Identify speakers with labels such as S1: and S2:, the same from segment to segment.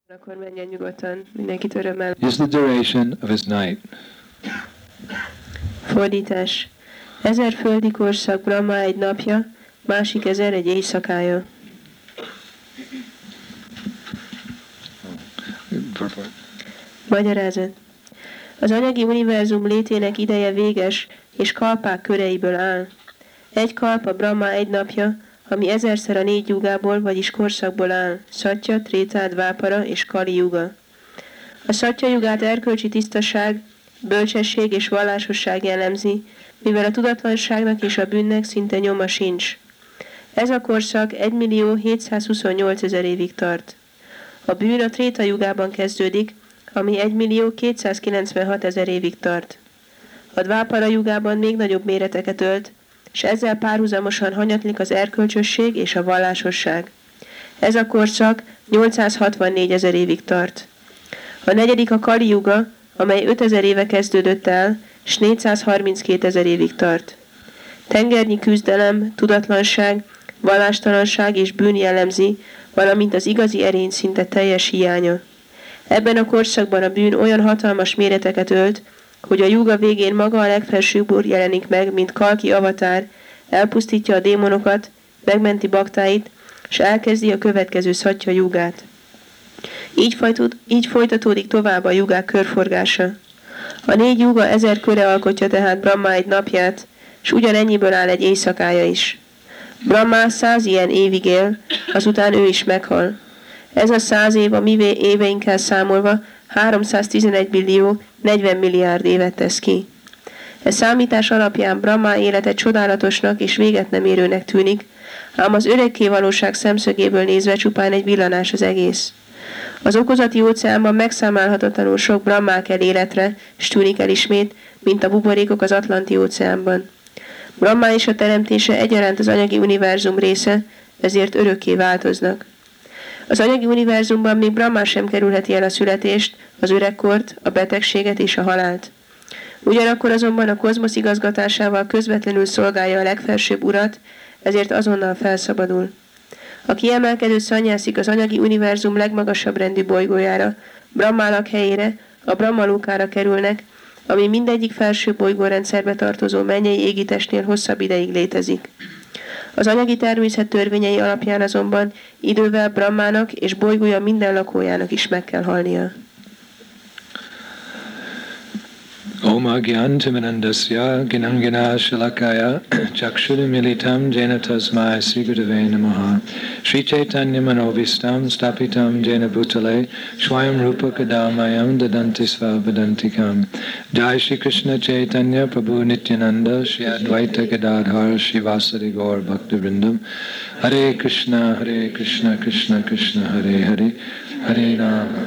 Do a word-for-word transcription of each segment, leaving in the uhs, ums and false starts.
S1: Akkor menjen nyugodtan, mindenkit örömmel.
S2: Is the duration of his night.
S1: Fordítás. Ezer földi korszak Brahma egy napja, másik ezer egy éjszakája. Magyarázat. Az anyagi univerzum létének ideje véges, és kalpák köreiből áll. Egy kalpa Brahma egy napja, ami ezerszer a négy jugából, vagyis korszakból áll, Szatya, Tréta, Dvápara és Kali juga. A Szatya jugát erkölcsi tisztaság, bölcsesség és vallásosság jellemzi, mivel a tudatlanságnak és a bűnnek szinte nyoma sincs. Ez a korszak egymillió hétszázhuszonnyolcezer évig tart. A bűn a Tréta jugában kezdődik, ami egymillió kétszázkilencvenhatezer évig tart. A Dvápara jugában még nagyobb méreteket ölt, és ezzel párhuzamosan hanyatlik az erkölcsösség és a vallásosság. Ez a korszak nyolcszázhatvannégyezer évig tart. A negyedik a Kali juga, amely ötezer éve kezdődött el, és négyszázharminckétezer évig tart. Tengernyi küzdelem, tudatlanság, vallástalanság és bűn jellemzi, valamint az igazi erény szinte teljes hiánya. Ebben a korszakban a bűn olyan hatalmas méreteket ölt, hogy a juga végén maga a legfelsőbb úr jelenik meg, mint Kalki avatár, elpusztítja a démonokat, megmenti baktáit, és elkezdi a következő Szatya jugát. Így, folytó, így folytatódik tovább a jugák körforgása. A négy juga ezer köre alkotja tehát Brahma egy napját, és ugyanennyiből áll egy éjszakája is. Brahma száz ilyen évig él, azután ő is meghal. Ez a száz év a mi éveinkkel számolva háromszáztizenegy billió negyven milliárd évet tesz ki. E számítás alapján Brahma élete csodálatosnak és véget nem érőnek tűnik, ám az örökké valóság szemszögéből nézve csupán egy villanás az egész. Az okozati óceánban megszámálhatatlanul sok Brahmá kell életre, s tűnik el ismét, mint a buborékok az Atlanti óceánban. Brahma és a teremtése egyaránt az anyagi univerzum része, ezért örökké változnak. Az anyagi univerzumban még Brahma sem kerülheti el a születést, az öregkort, a betegséget és a halált. Ugyanakkor azonban a kozmosz igazgatásával közvetlenül szolgálja a legfelsőbb urat, ezért azonnal felszabadul. A kiemelkedő szanyászik az anyagi univerzum legmagasabb rendű bolygójára, Brahma lakhelyére, a Brahma lókára kerülnek, ami mindegyik felső bolygórendszerbe tartozó mennyei égitestnél hosszabb ideig létezik. Az anyagi természet törvényei alapján azonban idővel Brahmának és bolygója minden lakójának is meg kell halnia.
S2: Om agyan timirandasya ginangina shalakaya chakshurumilitam jena tasmai srigurave namaha Sri Chaitanya manovistam stapitam jena bhutale swayam rupa kadamayam dadanti svavadantikam Jai Shri Krishna Chaitanya Prabhu Nityananda Shri Advaita Gadadhar Shri Vasari Gaur Bhaktivrindam Hare Krishna Hare Krishna Krishna Krishna Hare Hare Hare Rama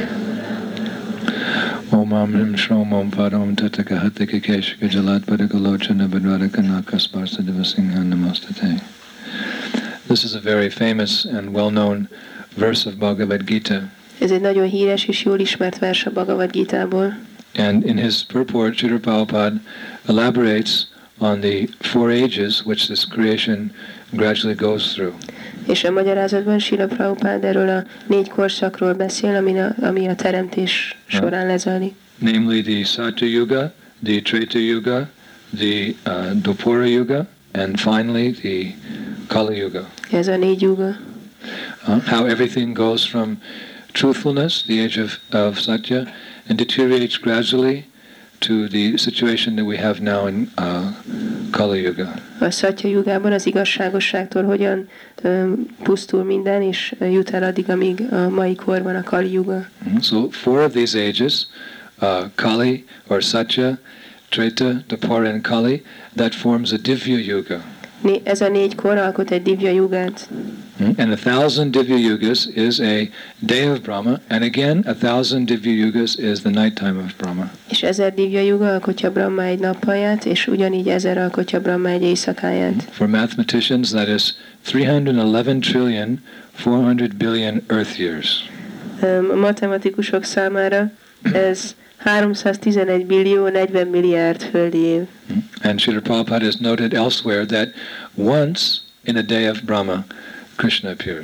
S2: Om Amrim Shrom Om Param Tataka Hataka Keshika Jalat Padagalochana Badvaraka Nakasparsa Devasingha Namastate. This is a very famous and well-known verse of Bhagavad Gita.
S1: Ez egy nagyon híres és jól ismert vers a Bhagavad Gítából.
S2: And in his purport, Srila Prabhupada elaborates on the four ages which this creation gradually goes through.
S1: És a magyarázatban Srila Prabhupada erről a négy korszakról beszél, ami a, ami a teremtés során lezajlik.
S2: Namely the Satya Yuga, the Treta Yuga, the uh, Dwapara Yuga, and finally the Kali Yuga.
S1: Ez a négy yuga.
S2: Uh, how everything goes from truthfulness, the age of, of Satya, and deteriorates gradually to the situation that we have now in uh, Kali Yuga.
S1: A Szatya jugában az igazságosságtól hogyan um, pusztul minden, és jut el addig, amíg a mai korban a Kali Yuga.
S2: Mm-hmm. So four of these ages, uh, Kali or Satya, Treta, Dwapara, and Kali, that forms a Divya Yuga.
S1: Ez a négy kor alkot egy Divya jugát.
S2: And a thousand Divya Yugas is a day of Brahma, and again a thousand Divya Yugas is the nighttime of Brahma.
S1: És ezer Divya yuga alkotja Brahma egy nappalját, és ugyanígy ezer alkotja Brahma egy éjszakáját.
S2: For mathematicians, that is three hundred eleven trillion four hundred billion earth years.
S1: A matematikusok számára ez háromszáztizenegy billió negyven milliárd földi év.
S2: And Srila Prabhupada has noted elsewhere that once in a day of Brahma, Krishna appears.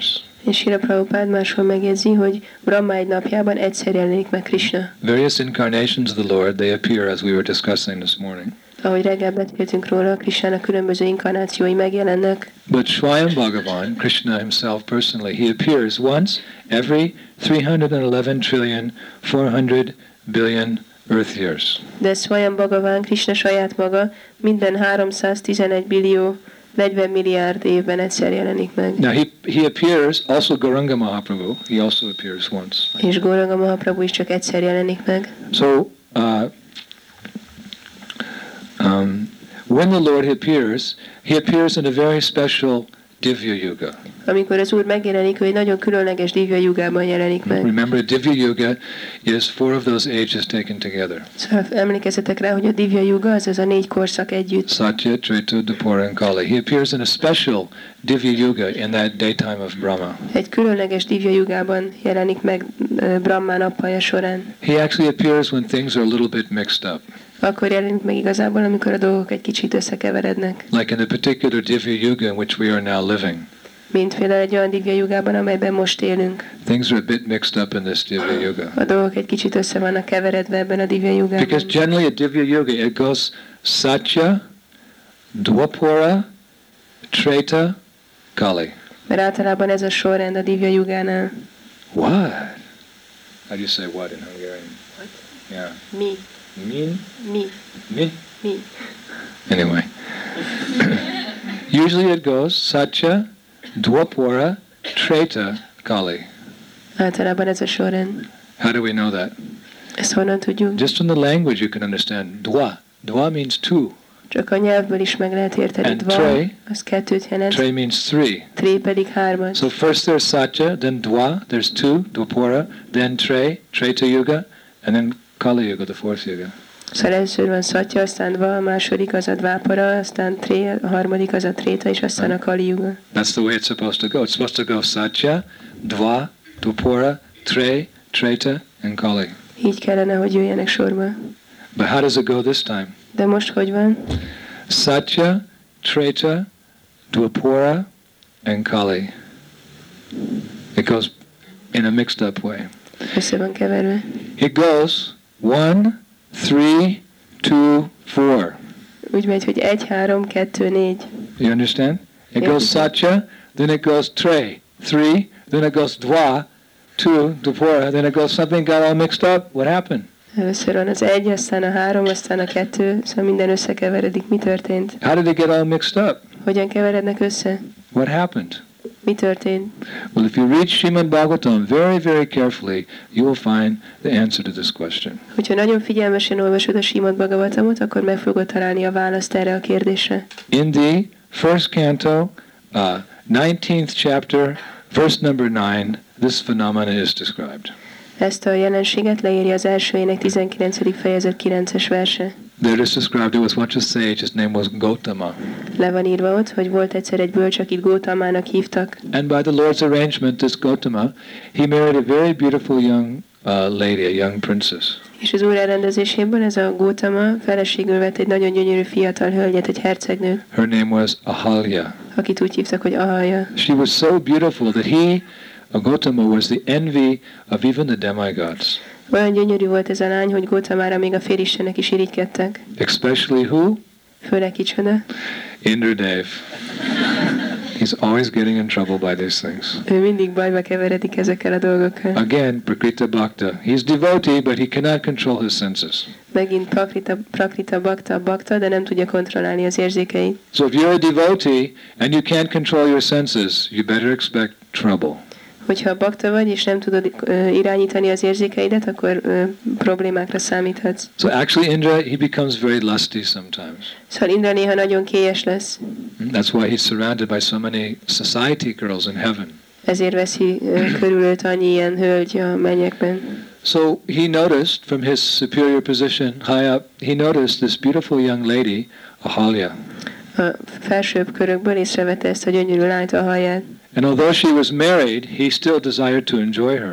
S1: És Srila Prabhupád máshol megjegyzi, hogy Brahma egy napjában egyszer jelenik meg Krishna.
S2: Various incarnations of the Lord, they appear as we were discussing this morning.
S1: Ahogy reggel beszéltünk róla, Krishnának különböző inkarnációi megjelennek.
S2: But Swayam Bhagavan, Krishna himself personally, he appears once every three hundred eleven trillion four hundred billion earth years.
S1: De Swayam Bhagavan, Krishna saját maga minden háromszáztizenegy billió negyven milliárd évben egyszer jelenik meg.
S2: Now he he appears also Gauranga Mahaprabhu. He also appears once.
S1: És Gauranga Mahaprabhu is csak egyszer jelenik meg.
S2: So uh, um, when the Lord appears, he appears in a very special Divya Yuga.
S1: Amikor az Úr megjelenik, ő egy nagyon különleges Divya Yugában jelenik meg.
S2: Remember, Divya Yuga is four of those ages taken together.
S1: Szóval emlékezzetek rá, hogy a Divya Yuga az az a négy korszak együtt.
S2: Satya, Treta, Dwapara, and Kali. He appears in a special Divya Yuga in that daytime of Brahma.
S1: Egy különleges Divya Yugában jelenik meg uh, Brahma nappalja során.
S2: He actually appears when things are a little bit mixed up.
S1: Akkor jelenik meg igazából, amikor a dolgok egy kicsit összekeverednek.
S2: Like in the particular Divya Yuga in which we are now living.
S1: Mint például egy olyan Divya Yugában, amelyben most élünk.
S2: Things are a bit mixed up in this Divya Yuga.
S1: A dolgok egy kicsit össze vannak keveredve ebben a Divya Yugában.
S2: Because generally a Divya Yuga, it goes Satya, Dwapara, Treta, Kali.
S1: Mert általában ez a sorrend a Divya Yugánál.
S2: What? How do you say what in Hungarian?
S1: What?
S2: Yeah.
S1: Mi.
S2: Min?
S1: Mi.
S2: Mi?
S1: Mi.
S2: Anyway. Usually it goes Satya, Dwapara, Treta, Kali.
S1: Általában ez a sorrend.
S2: How do we know that?
S1: Ezt honnan tudjuk?
S2: Just from the language you can understand. Dwa. Dwa means two.
S1: Csak a nyelvből is meg lehet érteni.
S2: And
S1: Dva,
S2: tre.
S1: az kettőt jelent.
S2: Tre means three.
S1: Tré pedig hármat.
S2: So first there's Satya, then Dwa, there's two, Dwapara, then Tre, Treta Yuga, and then Kali Yuga, the fourth Yuga.
S1: Szóval először van Satya, aztán Dva, a második az a Dvápara, aztán Tré, a harmadik az a Tréta, és aztán a Kali Yuga.
S2: That's the way it's supposed to go. It's supposed to go Satya, Dva, Dwapara, Tre, Treta, and Kali.
S1: Így kellene, hogy jöjjenek sorba.
S2: But how does it go this time?
S1: De most hogy van?
S2: Satya, Treta, Dwapara, and Kali. It goes in a mixed up way.
S1: Össze van keverve.
S2: It goes one, three, two, four.
S1: Úgy megy, hogy egy, három, kettő, négy.
S2: You understand? It goes Satya, then it goes Tre, three, then it goes Dva, two, Dwapara, then it goes something got all mixed up. What happened?
S1: Először van az egy, aztán a három, aztán a kettő, szóval minden összekeveredik. Mi történt?
S2: How did it get all mixed up?
S1: Hogyan keverednek össze?
S2: What happened?
S1: Mi történt?
S2: Well, if you read Srimad Bhagavatam very, very carefully, you will find the answer to this question.
S1: Hogyha nagyon figyelmesen olvasod a Srimad Bhagavatamot, akkor meg fogod találni a választ erre a kérdésre.
S2: In the first canto, uh, nineteenth chapter, verse number nine, this phenomena is described.
S1: Ezt a jelenséget leírja az első ének tizenkilencedik fejezet kilences verse.
S2: There it is described, there was once a sage, his name was Gautama.
S1: Le van írva ott, hogy volt egyszer egy bölcs, akit Gautamának hívtak.
S2: And by the Lord's arrangement, this Gautama, he married a very beautiful young uh, lady, a young princess.
S1: És az úr elrendezéséből ez a Gautama feleségül vett egy nagyon gyönyörű fiatal hölgyet, egy hercegnőt,
S2: Her name was Ahalya.
S1: akit úgy hívtak, hogy Ahalya.
S2: She was so beautiful that he, uh, Gautama, was the envy of even the demigods.
S1: Olyan gyönyörű volt ez a lány, hogy Gautamára még a félistenek is irigykedtek.
S2: Especially who?
S1: Főleg kicsoda.
S2: Indradev. He's always getting in trouble by these things.
S1: Ő mindig bajba keveredik ezekkel a dolgokkal.
S2: Again, Prakrita Bhakta. He's devotee, but he cannot control his senses.
S1: Megint Prakrita, Prakrita Bhakta, Bhakta, de nem tudja kontrollálni az érzékeit.
S2: So if you're a devotee and you can't control your senses, you better expect trouble.
S1: Hogyha bakta vagy, és nem tudod uh, irányítani az érzékeidet, akkor uh, problémákra számíthatsz.
S2: So actually Indra, he becomes very lusty sometimes.
S1: Szóval Indra néha nagyon kélyes lesz.
S2: That's why he's surrounded by so many society girls in heaven.
S1: Ezért veszi uh, körül őt annyi ilyen hölgy a mennyekben.
S2: So he noticed from his superior position high up, he noticed this beautiful young lady, Ahalya.
S1: A felsőbb körökből észrevette ezt a gyönyörű lányt, Ahalyát.
S2: And although she was married, he still desired to enjoy her.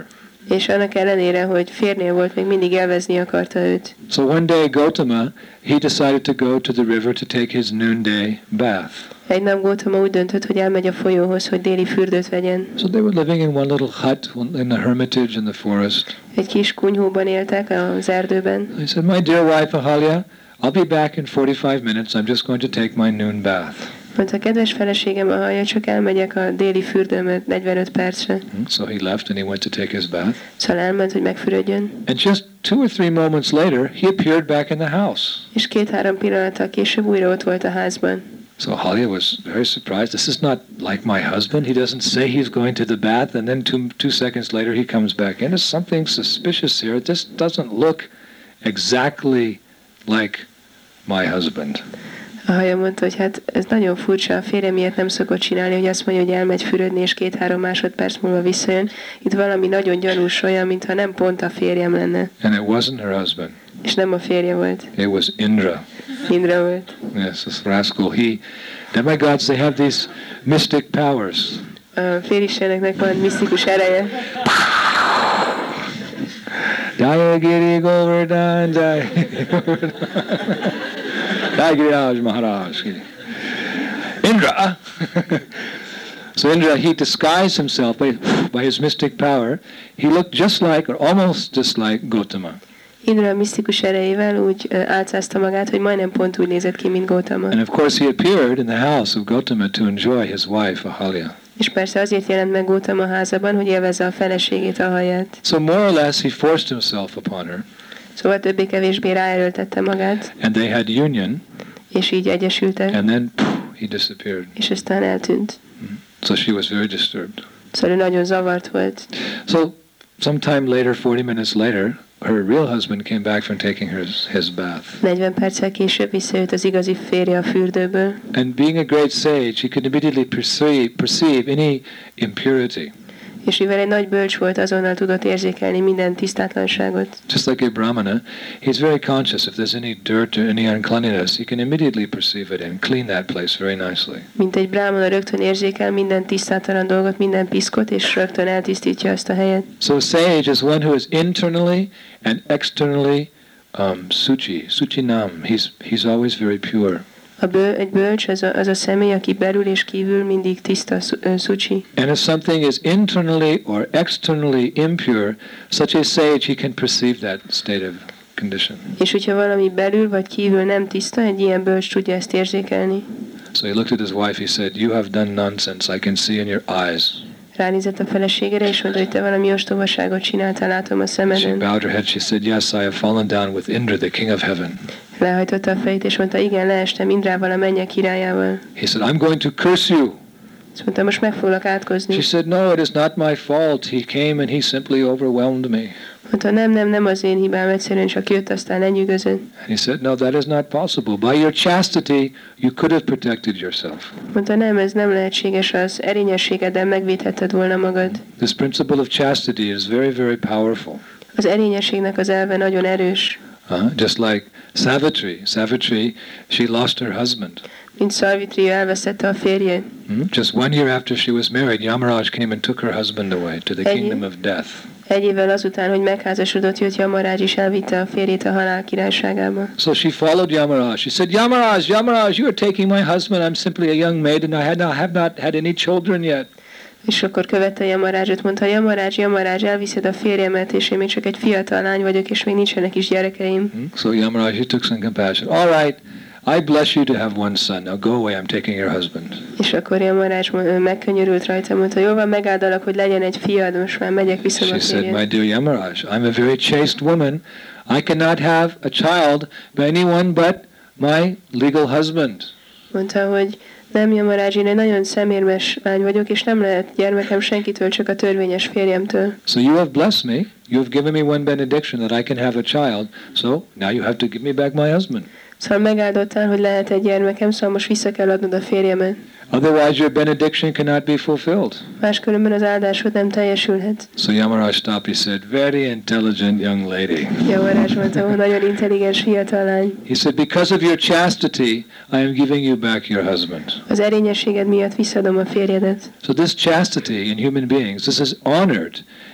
S1: És annak ellenére, hogy férnél volt, még mindig élvezni akarta őt.
S2: So one day Gautama, he decided to go to the river to take his noonday bath.
S1: Egy nap Gautama úgy döntött, hogy elmegy a folyóhoz, hogy déli fürdőt vegyen.
S2: So they were living in one little hut in the hermitage in the forest.
S1: Egy kis kunyhóban éltek az erdőben.
S2: He said, "My dear wife Ahalya, I'll be back in forty-five minutes. I'm just going to take my noon bath."
S1: Mondta, kedves feleségem, Ahalya, csak elmegyek a déli fürdőmet negyvenöt percre.
S2: So he left and he went to take his bath.
S1: Szóval elment, hogy megfürödjön.
S2: And just two or three moments later, he appeared back in the house.
S1: És két-három pillanattal később újra ott volt a házban.
S2: So Ahalya was very surprised. This is not like my husband. He doesn't say he's going to the bath, and then two, two seconds later he comes back in. There's something suspicious here. This doesn't look exactly like my husband.
S1: Ahalya mondta, hogy hát ez nagyon furcsa, a férje miért nem szokott csinálni, hogy azt mondja, hogy elmegy fürödni, és két-három másodperc múlva visszajön. Itt valami nagyon gyanús, olyan, mintha nem pont a férjem lenne.
S2: And it wasn't her husband.
S1: És nem a férje volt.
S2: It was Indra.
S1: Indra volt.
S2: Yes, this rascal. He, demigods, they have these mystic powers.
S1: A félisteneknek van misztikus ereje.
S2: Jaya Giri Govardhan, Jaya Jai Giriraj Maharaj. Indra. So Indra, he disguised himself by, by his mystic power. He looked just like, or almost just like Gautama.
S1: Indra a misztikus erejével úgy uh, álcázta magát, hogy majdnem pont úgy nézett ki, mint Gautama.
S2: And of course he appeared in the house of Gautama to enjoy his wife Ahalya.
S1: És persze azért jelent meg Gautama házában, hogy élvezze a feleségét, Ahalyát.
S2: So more or less he forced himself upon her.
S1: Szóval többé-kevésbé ráerőltette magát.
S2: And they had union.
S1: És így egyesültek.
S2: And then poof, he disappeared.
S1: És aztán eltűnt.
S2: So she was very disturbed.
S1: Szóval ő nagyon zavart volt.
S2: So sometime later, forty minutes later, her real husband came back from taking his, his bath.
S1: negyven perccel később visszajött az igazi férje a fürdőből.
S2: And being a great sage, he could immediately perceive, perceive any impurity.
S1: És mivel egy nagy bölcs volt, azonnal tudott érzékelni minden tisztátlanságot.
S2: Just like a brahmana, he's very conscious if there's any dirt or any uncleanliness, he can immediately perceive it and clean that place very nicely.
S1: Mint egy bráhmana rögtön érzékel minden tisztátalan dolgot, minden piszkot, és rögtön eltisztítja azt a helyet.
S2: So a sage is one who is internally and externally um, suchi, suchinam. He's, he's always very pure.
S1: A bő, egy bölcs az a, az a személy, aki belül és kívül mindig tiszta, szucsi.
S2: And if something is internally or externally impure, such a sage, he can perceive that state of condition.
S1: És hogyha valami belül vagy kívül nem tiszta, egy ilyen bölcs tudja ezt érzékelni.
S2: So he looked at his wife, he said, "You have done nonsense, I can see in your eyes."
S1: Ránézett a feleségére, és mondta, hogy te valami ostobaságot csináltál, látom a
S2: She
S1: szemeden.
S2: bowed her head, she said, "Yes, I have fallen down with Indra, the king of heaven."
S1: Lehajtotta a fejét, és mondta, igen, leestem Indrával, a mennyek királyával.
S2: He said, "I'm going to curse you."
S1: Azt mondta, most meg foglak átkozni.
S2: She said, "No, it is not my fault. He came and he simply overwhelmed me."
S1: Mondta, nem, nem, nem az én hibám, egyszerűen csak jött, aztán lenyűgözött.
S2: And he said, "No, that is not possible. By your chastity, you could have protected yourself."
S1: Mondta, nem, ez nem lehetséges, az erényességeddel megvédhetted volna magad.
S2: This principle of chastity is very, very powerful.
S1: Az erényességnek az elve nagyon erős.
S2: Uh, just like Savitri. Savitri, she lost her husband.
S1: Mint Savitri, elvesztette a férjét.
S2: Hmm? Just one year after she was married, Yamaraj came and took her husband away to the
S1: Egy-
S2: kingdom of death.
S1: Egy évvel azután, hogy megházasodott, jött Yamaraj, és elvitte a férjét a halál királyságába.
S2: So she followed Yamaraj. She said, "Yamaraj, Yamaraj, you are taking my husband. I'm simply a young maid and I had not, have not had any children yet."
S1: És akkor követte Yamarajot, mondta, Yamaraj, Yamaraj, elviszed a férjemet, és én még csak egy fiatal lány vagyok, és még nincsenek is gyerekeim.
S2: Hmm? So Yamaraj, he took some compassion. "All right, I bless you to have one son. Now go away, I'm taking your husband."
S1: És akkor Yamaraj megkönyörült rajta, mondta, jó van, megáldalak, hogy legyen egy fiad, most már megyek vissza
S2: She
S1: a
S2: said,
S1: férjed.
S2: "My dear Yamaraj, I'm a very chaste woman. I cannot have a child by anyone but my legal husband."
S1: Mondta, hogy nem, Yamaraj, én egy nagyon szemérmes lány vagyok, és nem lehet gyermekem senkitől, csak a törvényes férjemtől.
S2: So you have blessed me. You have given me one benediction that I can have a child. So now you have to give me back my husband.
S1: Szóval megáldottál, hogy lehet egy gyermekem, szóval most vissza kell adnod a férjemet.
S2: Otherwise your benediction cannot be fulfilled.
S1: Máskülönben az áldásod nem teljesülhet.
S2: So Yamaraj stopped. He said, "Very intelligent young lady."
S1: Yamaraj mondta, hogy nagyon intelligens fiatal lány.
S2: He said, "Because of your chastity, I am giving you back your husband."
S1: Az erényességed miatt visszadom a férjedet.
S2: So this chastity in human beings, this is honored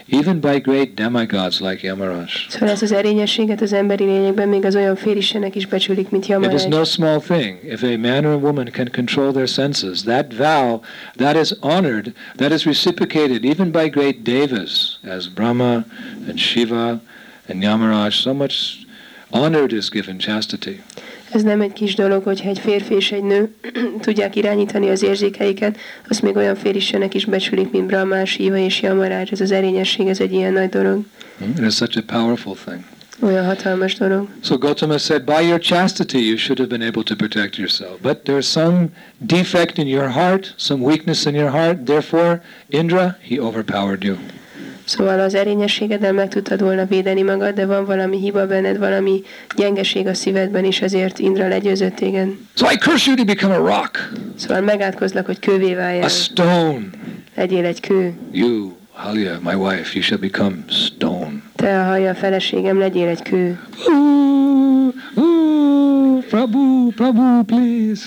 S2: even by great demigods like Yamaraj.
S1: Szóval ezt az erényességet az emberi lényekben még az olyan félistenek is becsülik, mint
S2: It is
S1: Yamaraj.
S2: no small thing. If a man or a woman can control their senses, that vow, that is honored, that is reciprocated even by great devas, as Brahma and Shiva and Yamaraj. So much honor is given chastity.
S1: Ez nem egy kis dolog, hogyha egy férfi és egy nő tudják irányítani az érzékeiket, azt még olyan félistenek is becsülik, mint Brahma, Shiva és Yamaraj. Ez az erényesség, ez egy ilyen nagy dolog.
S2: It is such a powerful thing.
S1: Olyan hatalmas dolog.
S2: So Gautama said, by your chastity you should have been able to protect yourself. But there's some defect in your heart, some weakness in your heart. Therefore, Indra, he overpowered you.
S1: Szóval az erényességeddel meg tudtad volna védeni magad, de van valami hiba benned, valami gyengeség a szívedben, és ezért Indra legyőzött téged.
S2: So I curse you to become a rock,
S1: Szóval megátkozlak, hogy kővé
S2: a
S1: váljál.
S2: stone.
S1: Legyél egy kő.
S2: You, Halya, my wife, you shall become stone.
S1: Te, a Halya, feleségem, legyél egy kő.
S2: Ooh, ooh, Prabhu, Prabhu, please.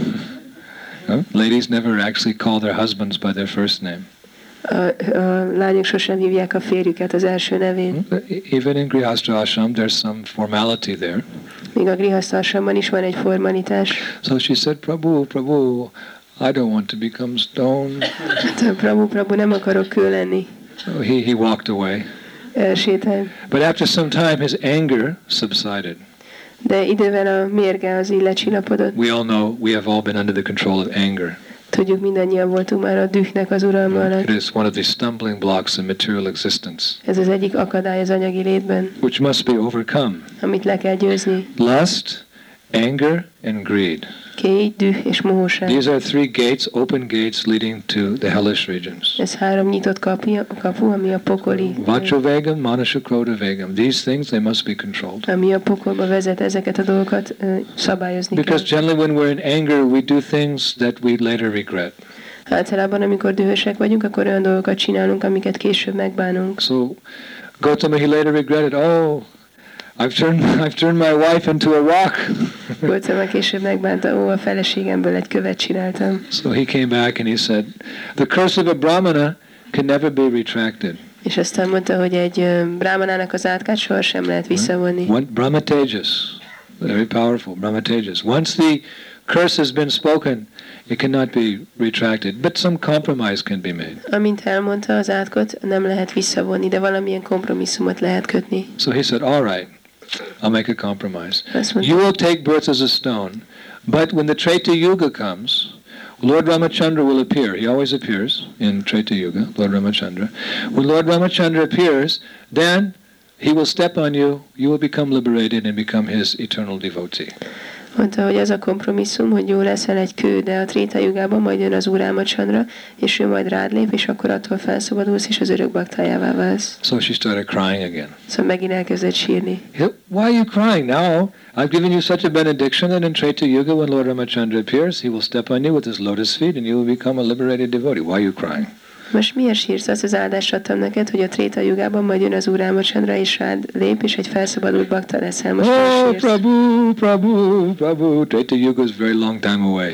S2: Huh? Ladies never actually call their husbands by their first name.
S1: A, a lányok sosem hívják a férjüket az első nevén.
S2: Even in Grihastha Ashram, there's some formality there.
S1: Még a grihasztásomban is van egy formalitás.
S2: So she said, Prabhu, Prabhu, I don't want to become stone.
S1: Te, Prabhu, Prabhu, nem akarok kő lenni.
S2: So he, he walked away.
S1: Elsétált.
S2: But after some time, his anger subsided.
S1: De idővel a mérge az így lecsillapodott.
S2: We all know we have all been under the control of anger.
S1: Tudjuk, mindannyian voltunk már a dühnek az uralma alatt.
S2: It is one of the stumbling blocks in material existence,
S1: Ez az egyik akadály az anyagi létben,
S2: which must be overcome.
S1: amit le kell győzni.
S2: Lust, anger, and greed.
S1: Kéj, düh és mohóság.
S2: These are three gates, open gates leading to the hellish regions.
S1: Ez három nyitott kapu, kapu ami a pokoli,
S2: Vajravegam, Manasukrodavegam. These things, they must be controlled.
S1: ami a pokolba vezet, ezeket a dolgokat ö, szabályozni
S2: Because
S1: kell.
S2: generally when we're in anger, we do things that we later regret.
S1: Általában, amikor dühösek vagyunk, akkor olyan dolgokat csinálunk, amiket később megbánunk.
S2: So Gautama, he later regretted, oh, I've turned, I've turned my wife into a rock.
S1: Gautama később megbánta, ó, a feleségemből egy követ csináltam.
S2: So he came back and he said, the curse of a brahmana can never be retracted.
S1: És aztán mondta, hogy egy ö, brámanának az átkát sohasem lehet visszavonni.
S2: One, Brahma Tejas, very powerful, Brahma Tejas. Once the curse has been spoken, it cannot be retracted, but some compromise can be made.
S1: Amint elmondta az átkot, nem lehet visszavonni, de valamilyen kompromisszumot lehet kötni.
S2: So he said, all right, I'll make a compromise.
S1: Azt mondta,
S2: You will take birth as a stone, but when the Treta Yuga comes, Lord Ramachandra will appear. He always appears in Treta Yuga, Lord Ramachandra. When Lord Ramachandra appears, then he will step on you, you will become liberated and become his eternal devotee.
S1: mondta, hogy az a kompromisszum, hogy jó leszel egy kő, de a Tréta Jugában majd jön az Úr Rámachandra, és ő majd rád lép, és akkor attól felszabadulsz, és az örök baktájává válsz.
S2: So she started crying again.
S1: Szóval megint elkezdett sírni.
S2: Why are you crying now? I've given you such a benediction that in Treta Yuga, when Lord Ramachandra appears, he will step on you with his lotus feet and you will become a liberated devotee. Why are you crying?
S1: Most miért sírsz? Azt az áldást adtam neked, hogy a Tréta Jugában majd jön az Úr Rámachandra, és rád lép, és egy felszabadult bakta leszel. Most
S2: Oh,
S1: miért sírsz?
S2: Prabhu, Prabhu, Prabhu. Treta Yuga is a very long time away.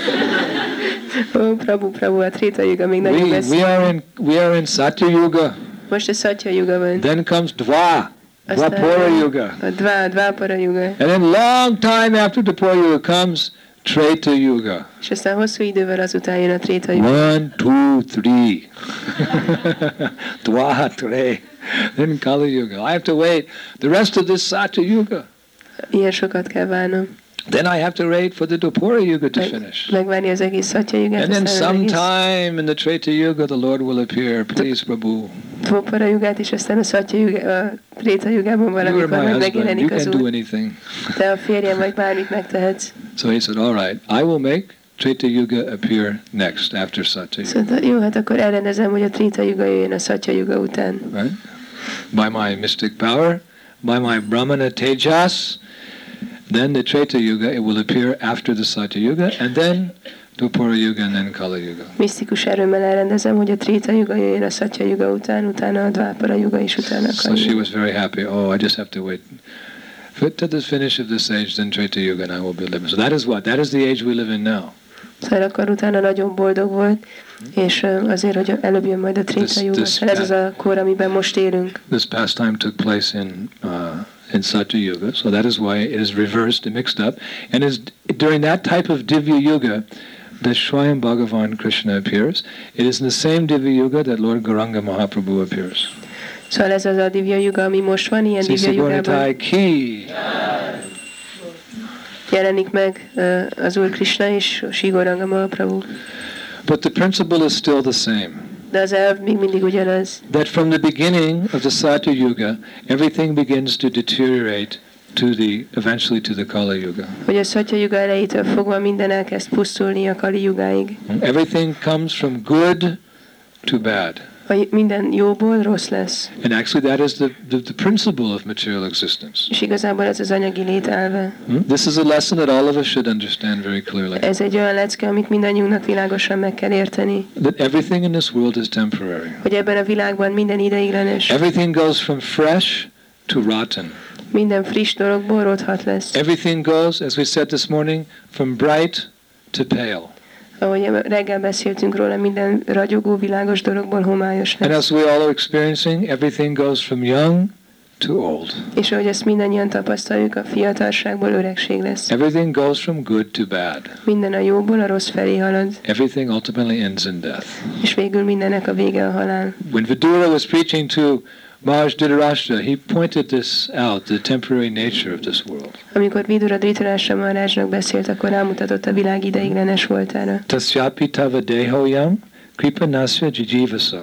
S1: Ó, oh, Prabhu, Prabhu, a Tréta Juga még nagyon
S2: We,
S1: messze.
S2: we are in we are in Satya Yuga.
S1: Most a Satya Juga van.
S2: Then comes Dva,
S1: Aztán
S2: Dvapara Yuga.
S1: a Dva, Dvapara Juga.
S2: And then long time after Dvapara Yuga comes Treta Yuga.
S1: És aztán hosszú idővel azután jön a Tréta Juga.
S2: One, two, three. Dva, three. Then Kali Yuga. I have to wait the rest of this Satya Yuga.
S1: Ilyen sokat kell várnom.
S2: Then I have to wait for the Dvapara Yuga to finish.
S1: Megvárni az egész Satya Jugát,
S2: And then
S1: aztán az egész
S2: sometime in the Treta Yuga the Lord will appear. Please, Prabhu.
S1: Dvapara Jugát, és aztán a Satya Juga, a Tréta Jugában
S2: You are
S1: valamikor
S2: my
S1: meg
S2: husband. You
S1: megjelenik az
S2: can do
S1: Úr.
S2: anything.
S1: Te a férjem vagy, bármit megtehetsz.
S2: So he said, all right, I will make Treta Yuga appear next after Satya Yuga.
S1: Szóval jó, hát akkor elrendezem, hogy a Tréta Juga jöjjön a Satya Juga után.
S2: Right? By my mystic power, by my Brahmana Tejas, then the Treta Yuga, it will appear after the Satya Yuga, and then Dvapara Yuga, and then Kali Yuga.
S1: Misztikus erőmmel elrendezem, hogy a Tréta Juga jöjjön a Satya Juga után, utána a Dvapara Juga, és utána a
S2: So
S1: Kali
S2: she
S1: Juga.
S2: was very happy. Oh, I just have to wait. Fit to the finish of this age, then Treta Yuga, and I will be living. So that is what? That is the age we live in now.
S1: Szóval akkor utána nagyon boldog volt, és azért, hogy előbb jön majd a Trita Yuga. Szóval ez az a kor, amiben most élünk.
S2: This pastime took place in uh, in Satya Yuga, so that is why it is reversed and mixed up. And is during that type of Divya Yuga that Swayam Bhagavan Krishna appears. It is in the same Divya Yuga that Lord Gauranga Mahaprabhu appears.
S1: Szóval ez az a Divya Yuga, ami most van, ilyen Divya Yugában jelenik meg uh, az Úr Krishna és Sri Gauranga Mahaprabhu.
S2: But the principle is still the same.
S1: De az elv még mindig ugyanaz.
S2: That from the beginning of the Satya Yuga, everything begins to deteriorate to the eventually to the Kali Yuga.
S1: Hogy a Satya Yuga elejétől fogva minden elkezd pusztulni a Kali Yugáig.
S2: Everything comes from good to bad.
S1: Minden jóból rossz lesz.
S2: And actually that is the, the, the principle of material existence.
S1: És igazából ez az anyagi lét elve.
S2: Hmm? This is a lesson that all of us should understand very clearly.
S1: Ez egy olyan lecke, amit mindannyiunknak világosan meg kell érteni.
S2: That everything in this world is temporary.
S1: Hogy ebben a világban minden ideiglenes.
S2: Everything goes from fresh to rotten.
S1: Minden friss dologból rothat lesz.
S2: Everything goes, as we said this morning, from bright to pale.
S1: Ahogy reggel beszéltünk róla, minden ragyogó, világos dologból homályos lesz.
S2: And as we all are experiencing, everything goes from young to old.
S1: És ahogy ezt mindannyian tapasztaljuk, a fiatalságból öregség lesz.
S2: Everything goes from good to bad.
S1: Minden a jóból a rossz felé halad.
S2: Everything ultimately ends in death.
S1: És végül mindennek a vége a halál.
S2: When Vidura was preaching to Maharaj Dhritarashtra, he pointed this out, the temporary nature of this world.
S1: Amikor Vidura Dhritarashtra Maharajnak beszélt, akkor rámutatott a világ ideiglenes voltára.
S2: Tasyapi tava dehoyam kripanasya jijivaso.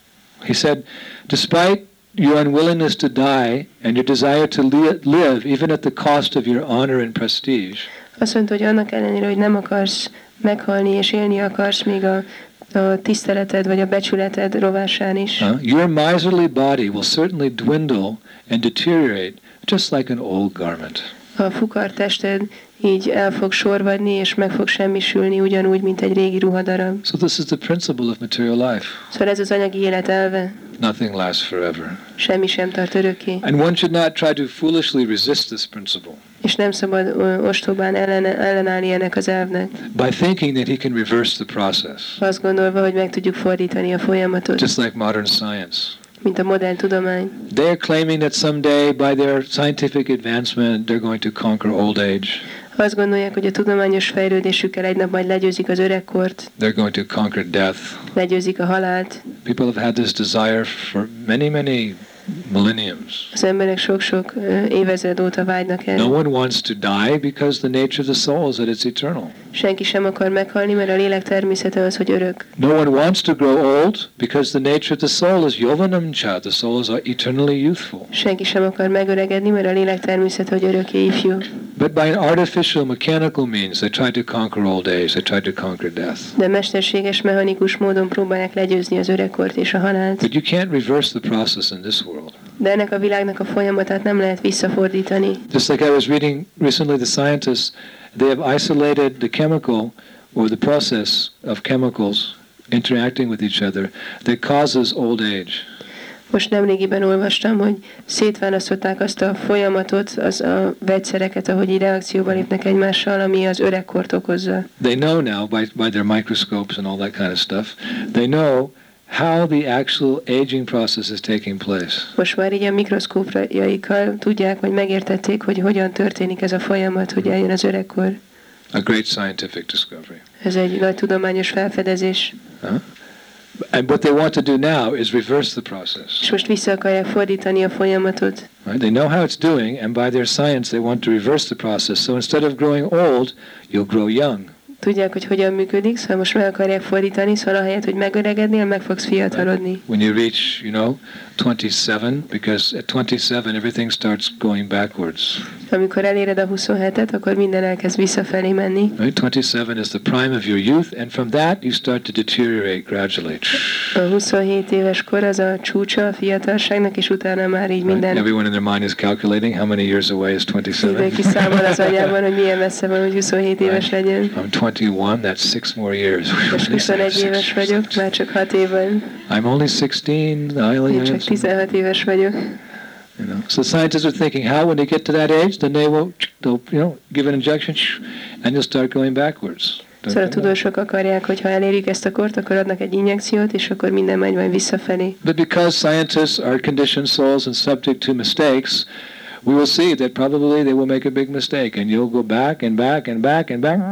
S2: He said, despite your unwillingness to die and your desire to li- live, even at the cost of your honor and prestige.
S1: Azt mondta, hogy annak ellenére, hogy nem akarsz meghalni és élni akarsz, még a a tiszteleted vagy a becsületed rovásán is.
S2: Uh, your miserly body will certainly dwindle and deteriorate just like an old garment.
S1: A fukar tested így el fog sorvadni és meg fog semmisülni ugyanúgy, mint egy régi ruhadarab.
S2: So this is the principle of material life.
S1: Szóval ez az anyagi élet elve.
S2: Nothing lasts forever.
S1: Semmi sem tart örökké.
S2: And one should not try to foolishly resist this principle.
S1: És nem szabad ö, ostobán ellen, ellenállni ennek az elvnek.
S2: By thinking that he can reverse the process.
S1: Azt gondolva, hogy meg tudjuk fordítani a folyamatot.
S2: Just like modern science.
S1: Mint a modern tudomány.
S2: They are claiming that someday by their scientific advancement they're going to conquer old age.
S1: Azt gondolják, hogy a tudományos fejlődésükkel egy nap majd legyőzik az öregkort.
S2: They're going to conquer death.
S1: Legyőzik a halált.
S2: People have had this desire for many, many millenniums.
S1: Az emberek sok-sok évezred óta vágynak erre.
S2: No one wants to die because the nature of the soul is that it's eternal.
S1: Senki sem akar meghalni, mert a lélek természete az, hogy örök.
S2: No one wants to grow old because the nature of the soul is yovanamcha. The soul is eternally youthful.
S1: Senki sem akar megöregedni, mert a lélek természete, hogy örökké ifjú.
S2: But by an artificial, mechanical means, they try to conquer old age. They try to conquer death.
S1: De mesterséges, mechanikus módon próbálják legyőzni az öregkort és a halált.
S2: But you can't reverse the process in this world.
S1: De ennek a világnak a folyamatát nem lehet visszafordítani.
S2: Just like I was reading recently, the scientists, they have isolated the chemical or the process of chemicals interacting with each other that causes old age.
S1: Most nemrégiben olvastam, hogy szétválasztották azt a folyamatot, az a vegyszereket, ahogy így reakcióba lépnek egymással, ami az öregkort okozza.
S2: They know now by, by their microscopes and all that kind of stuff, they know how the actual aging process is taking place.
S1: Most már így a mikroszkópjaikkal tudják, vagy megértették, hogy hogyan történik ez a folyamat, hogy eljön az öregkor.
S2: A great scientific discovery.
S1: Ez egy nagy tudományos felfedezés.
S2: Huh? And what they want to do now is reverse the process.
S1: És most vissza akarják fordítani a folyamatot.
S2: Right? They know how it's doing, and by their science they want to reverse the process. So instead of growing old, you'll grow young.
S1: Tudják, hogy hogyan működik, szóval most meg akarják fordítani, szóval ahelyett, hogy megöregednél, meg fogsz fiatalodni.
S2: When you reach, you know, twenty-seven, because at twenty-seven everything starts going backwards.
S1: Amikor eléred a huszonhetet, akkor minden elkezd visszafelé menni.
S2: Right? twenty-seven is the prime of your youth, and from that you start to deteriorate gradually.
S1: A huszonhét éves kor az a csúcsa a fiatalságnak, és utána már így minden.
S2: Right? Everyone in their mind is calculating how many years away is twenty-seven.
S1: Mindenki számol az agyában, hogy milyen messze van, hogy huszonhét éves legyen.
S2: I'm twenty-one, that's six more years.
S1: Most huszonegy éves vagyok, már csak hat év van.
S2: I'm only sixteen. I only
S1: Én csak tizenhat éves vagyok.
S2: You know, so scientists are thinking how when they get to that age, then they will, they'll, you know, give an injection, and you'll start going backwards.
S1: Szóval a tudósok akarják, hogy ha elérjük ezt a kort, akkor adnak egy injekciót, és akkor minden megy majd visszafelé.
S2: But because scientists are conditioned souls and subject to mistakes, we will see that probably they will make a big mistake, and you'll go back and back and back and back.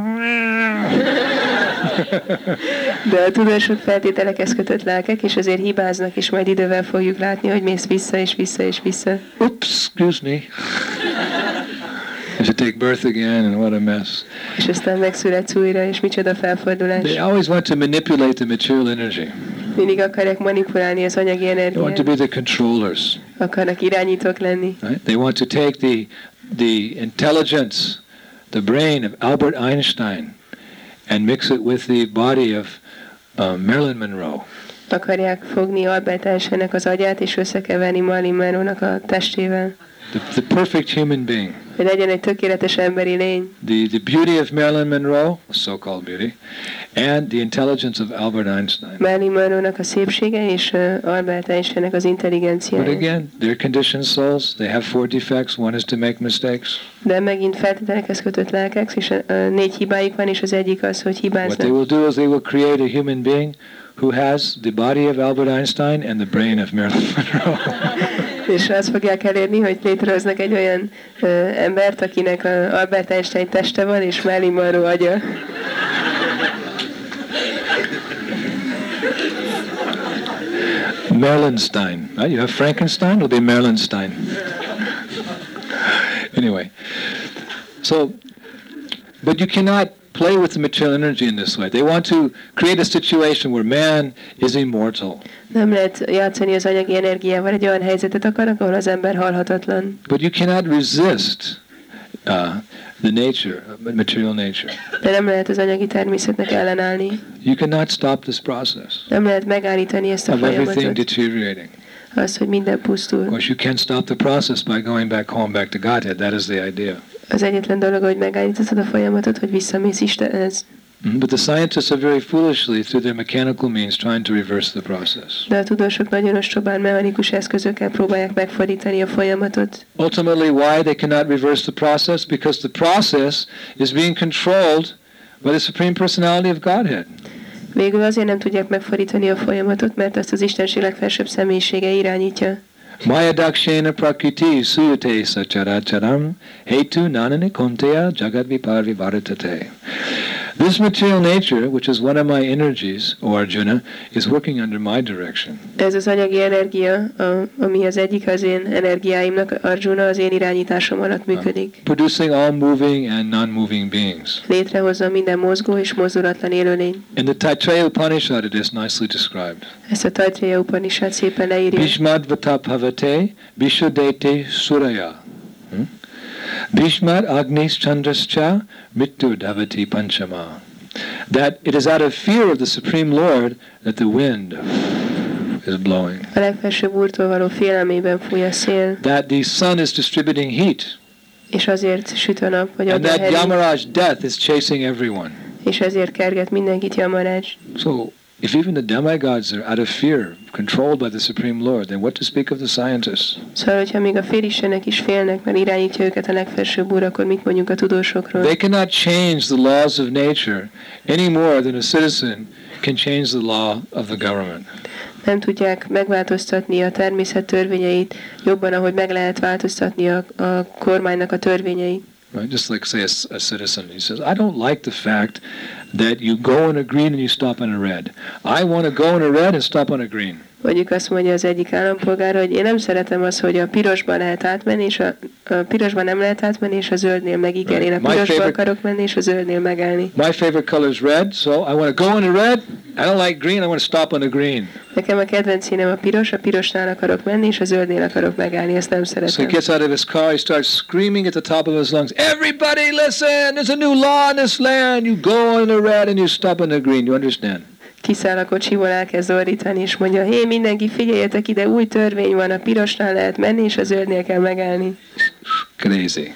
S1: De a tudósok feltételekhez kötött lelkek, és azért hibáznak, és majd idővel fogjuk látni, hogy mész vissza és vissza és vissza.
S2: Oops, excuse me. You should take birth again, and what a mess.
S1: És aztán megszületsz újra, és micsoda felfordulás.
S2: They always want to manipulate the material energy.
S1: Mindig akarják manipulálni az anyagi
S2: They want to
S1: energiát.
S2: be the controllers.
S1: Akarnak irányítók lenni.
S2: Right? They want to take the the intelligence, the brain of Albert Einstein, and mix it with the body of uh, Marilyn Monroe.
S1: Akarják fogni Albert Einsteinnek az agyát, és összekeverni Marilyn Monroe-nak a testével.
S2: The, the perfect human being.
S1: Hogy legyen egy tökéletes emberi lény.
S2: The, the beauty of Marilyn Monroe, so-called beauty, and the intelligence of Albert Einstein.
S1: Marilyn Monroe-nak a szépsége, és uh, Albert Einsteinnek az
S2: But
S1: intelligenciája.
S2: again, they're conditioned souls. They have four defects. One is to make mistakes.
S1: De megint feltételekhez kötött lelkek, és uh, négy hibájuk van, és az egyik az, hogy
S2: What they
S1: hibáznak.
S2: will do is they will create a human being who has the body of Albert Einstein and the brain of Marilyn Monroe.
S1: És azt fogják elérni, hogy létrehoznak egy olyan uh, embert, akinek a Albert Einstein teste van, és Marilyn Monroe agya.
S2: Marilynstein. Right? You have Frankenstein, it'll be Marilynstein. Anyway, so, but you cannot play with the material energy in this way. They want to create a situation where man is immortal.
S1: Nem lehet játszani az anyagi energiával, egy olyan helyzetet akarnak, ahol az ember halhatatlan.
S2: But you cannot resist uh, the nature, material nature.
S1: De nem lehet az anyagi természetnek ellenállni.
S2: You cannot stop this process
S1: Nem lehet megállítani ezt a
S2: of everything
S1: folyamatot.
S2: deteriorating.
S1: Az, hogy minden
S2: Of
S1: pusztul.
S2: course, you can't stop the process by going back home, back to Godhead. That is the idea.
S1: Az egyetlen dolog, hogy megállítod a folyamatot, hogy visszamész Istenhez.
S2: Mhm. But the scientists are very foolishly, through their mechanical means, trying to reverse the process.
S1: De a tudósok nagyon ostobán mechanikus eszközökkel próbálják megfordítani a folyamatot.
S2: Ultimately, why they cannot reverse the process? Because the process is being controlled by the Supreme Personality of Godhead.
S1: Végül azért nem tudják megfordítani a folyamatot, mert azt az Istenség legfelsőbb személyisége irányítja.
S2: Maya dakshena prakriti suyate sacharacharam hetu nanani konteya jagad viparvi bharatate. This material nature, which is one of my energies, O Arjuna, is working under my direction.
S1: Ez az anyagi energia, a, ami az egyik az én energiáimnak, Arjuna, az én irányításom alatt működik.
S2: Producing all moving and non-moving beings.
S1: Létrehozza minden mozgó és mozdulatlan élőlény.
S2: In the Taittiriya Upanishad it is nicely described.
S1: Ezt a Taittiriya Upanishad szépen leírja.
S2: Bhishmad vataphavate Vishudete suraya. Hmm? Bhishmad agnis chandrascha mrityu davati panchama. That it is out of fear of the Supreme Lord that the wind is blowing.
S1: A legfelsőbb úrtól való félelmében fúj a szél,
S2: That the sun is distributing heat.
S1: és azért süt a nap, vagy
S2: And
S1: ad a
S2: that
S1: hely,
S2: Yamaraj death is chasing everyone.
S1: és ezért kerget mindenkit Yamaraj.
S2: So if even the demigods are out of fear, controlled by the Supreme Lord, then what to speak of the scientists?
S1: Szóval, hogyha még a félistenek is félnek, mert irányítja őket a legfelsőbb úr, akkor mit mondjuk a tudósokról?
S2: They cannot change the laws of nature any more than a citizen can change the law of the government.
S1: Nem tudják megváltoztatni a természet törvényeit jobban, ahogy meg lehet változtatni a, a kormánynak a törvényeit.
S2: Right? Just like, say, a, a citizen, he says, I don't like the fact that you go on a green and you stop on a red. I want to go on a red and stop on a green.
S1: Mondjuk azt mondja az egyik állampolgár, hogy én nem szeretem azt, hogy a pirosban lehet átmenni, és a, a pirosban nem lehet átmenni, és a zöldnél meg igen. Én a
S2: My
S1: pirosban
S2: favorite-
S1: akarok menni, és a zöldnél megállni.
S2: My favorite color is red, so I want to go on a red. I don't like green, I want to stop on a green.
S1: Nekem a kedvenc színem a piros, a pirosnál akarok menni, és a zöldnél akarok megállni, ezt nem
S2: So he
S1: szeretem.
S2: gets out of his car, he starts screaming at the top of his lungs, everybody listen, there's a new law in this land. You go on the red and you stop on the green. You understand?
S1: Kiszáll a kocsiból, elkezd ordítani, és mondja, hé, mindenki figyeljetek ide, új törvény van, a pirosnál lehet menni, és a zöldnél kell megállni.
S2: Crazy.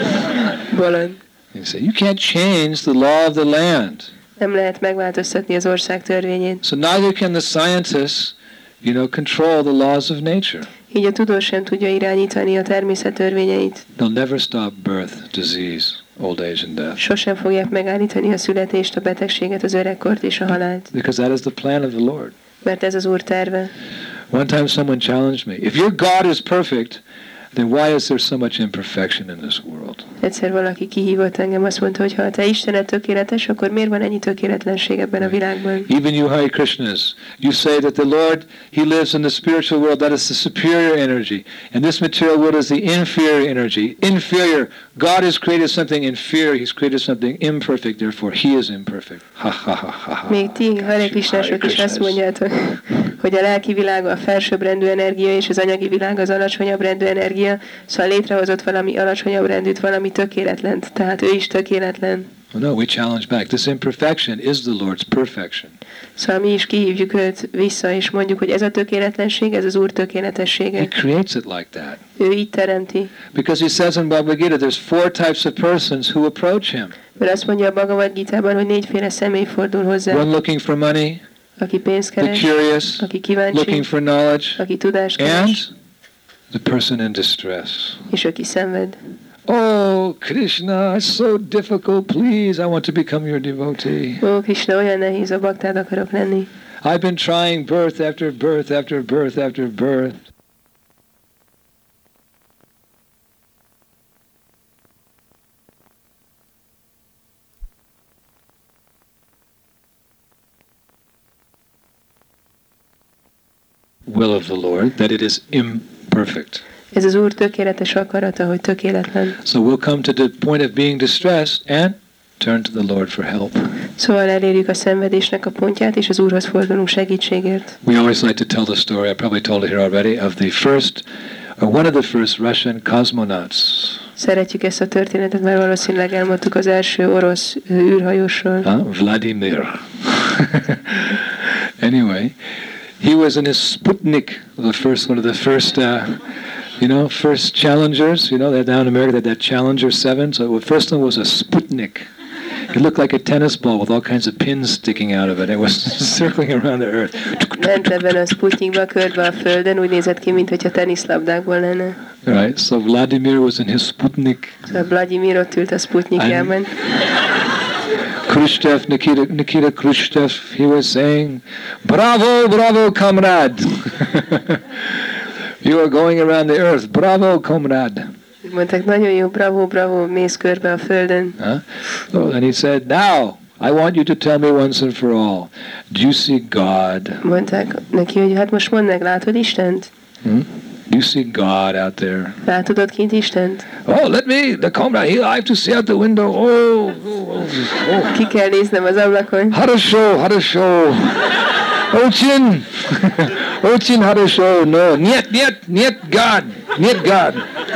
S1: Bolond.
S2: You say, you can't change the law of the land.
S1: Nem lehet megváltoztatni az ország törvényét.
S2: So neither can the scientists, you know, control the laws of nature.
S1: Így a tudós sem tudja irányítani a természet törvényeit.
S2: They'll never stop birth, disease, old age and death.
S1: Sosem fogják megállítani a születést, a betegséget, az öregkort és a halált.
S2: Because that is the plan of the Lord.
S1: Mert ez az Úr terve.
S2: One time someone challenged me. If your God is perfect, then why is there so much imperfection in this world?
S1: Egyszer valaki kihívott engem, azt mondta, hogy ha te Istened tökéletes, akkor miért van ennyi tökéletlenség ebben a világban?
S2: Even you Hare Krishnas, you say that the Lord, He lives in the spiritual world, that is the superior energy, and this material world is the inferior energy. Inferior. God has created something inferior, He's created something imperfect, therefore He is imperfect. Ha ha ha ha ha.
S1: Még ti Hare Krishnások is azt mondjátok, hogy a lelki világ a felsőbbrendű energia, és az anyagi világ az alacsonyabb rendű energia, szóval létrehozott valami alacsonyabb rendűt, valami tökéletlent, tehát ő is tökéletlen.
S2: Well, no, we challenge back. This imperfection is the Lord's perfection.
S1: Szóval mi is kihívjuk őt vissza, és mondjuk, hogy ez a tökéletlenség, ez az Úr tökéletessége.
S2: He creates it like that.
S1: Ő így teremti.
S2: Because He says in Bhagavad Gita, there's four types of persons who approach Him.
S1: Mert azt mondja a Bhagavad Gitában, hogy négyféle személy fordul hozzá.
S2: One looking for money,
S1: aki pénzt keres,
S2: the curious,
S1: aki kíváncsi,
S2: looking for knowledge,
S1: aki tudást keres,
S2: and the person in distress.
S1: És aki szenved.
S2: Oh, Krishna, it's so difficult. Please, I want to become your devotee.
S1: Ó, Krishna, olyan nehéz, a baktád akarok lenni.
S2: I've been trying birth after birth after birth after birth. Will of the Lord, that it is imperfect.
S1: Ez az Úr tökéletes akarata, hogy tökéletlen.
S2: So we'll come to the point of being distressed and turn to the Lord for help.
S1: Szóval elérjük a szenvedésnek a pontját, és az Úrhoz fordulunk segítségért.
S2: We always like to tell the story, I probably told it here already, of the first, or one of the first Russian cosmonauts.
S1: Szeretjük ezt a történetet, mert valószínűleg elmondtuk az első orosz űrhajósról.
S2: Huh? Vladimir. Anyway, he was in his Sputnik, the first one of the first, uh, you know, first Challengers. You know, they're down in America, they had that Challenger seven. So the first one was a Sputnik. It looked like a tennis ball with all kinds of pins sticking out of it. It was circling around the earth.
S1: Ment ebben a Sputnikba körbe a Földön, úgy nézett ki, mintha teniszlabdákból lenne.
S2: Right, so Vladimir was in his Sputnik.
S1: Szóval Vladimir ott ült a Sputnikjában.
S2: Khrushchev, Nikita, Nikita Khrushchev, he was saying, "Bravo, bravo, comrade! You are going around the earth. Bravo, comrade!"
S1: Mondták, nagyon jó, bravo, bravo, mész körbe a Földön.
S2: Huh? Oh, and he said, "Now, I want you to tell me once and for all, do you see God?"
S1: Mondták neki, hogy hát most mondd meg, látod Istent?
S2: Hmm? Do you see God out there?
S1: Látod ott kint Istent?
S2: Oh, let me, the comrade, he, I have to see out the window. Oh, oh, oh.
S1: Ki kell néznem az ablakon.
S2: Хорошо, хорошо. Очень, очень хорошо. No, нет, нет, нет God, нет God.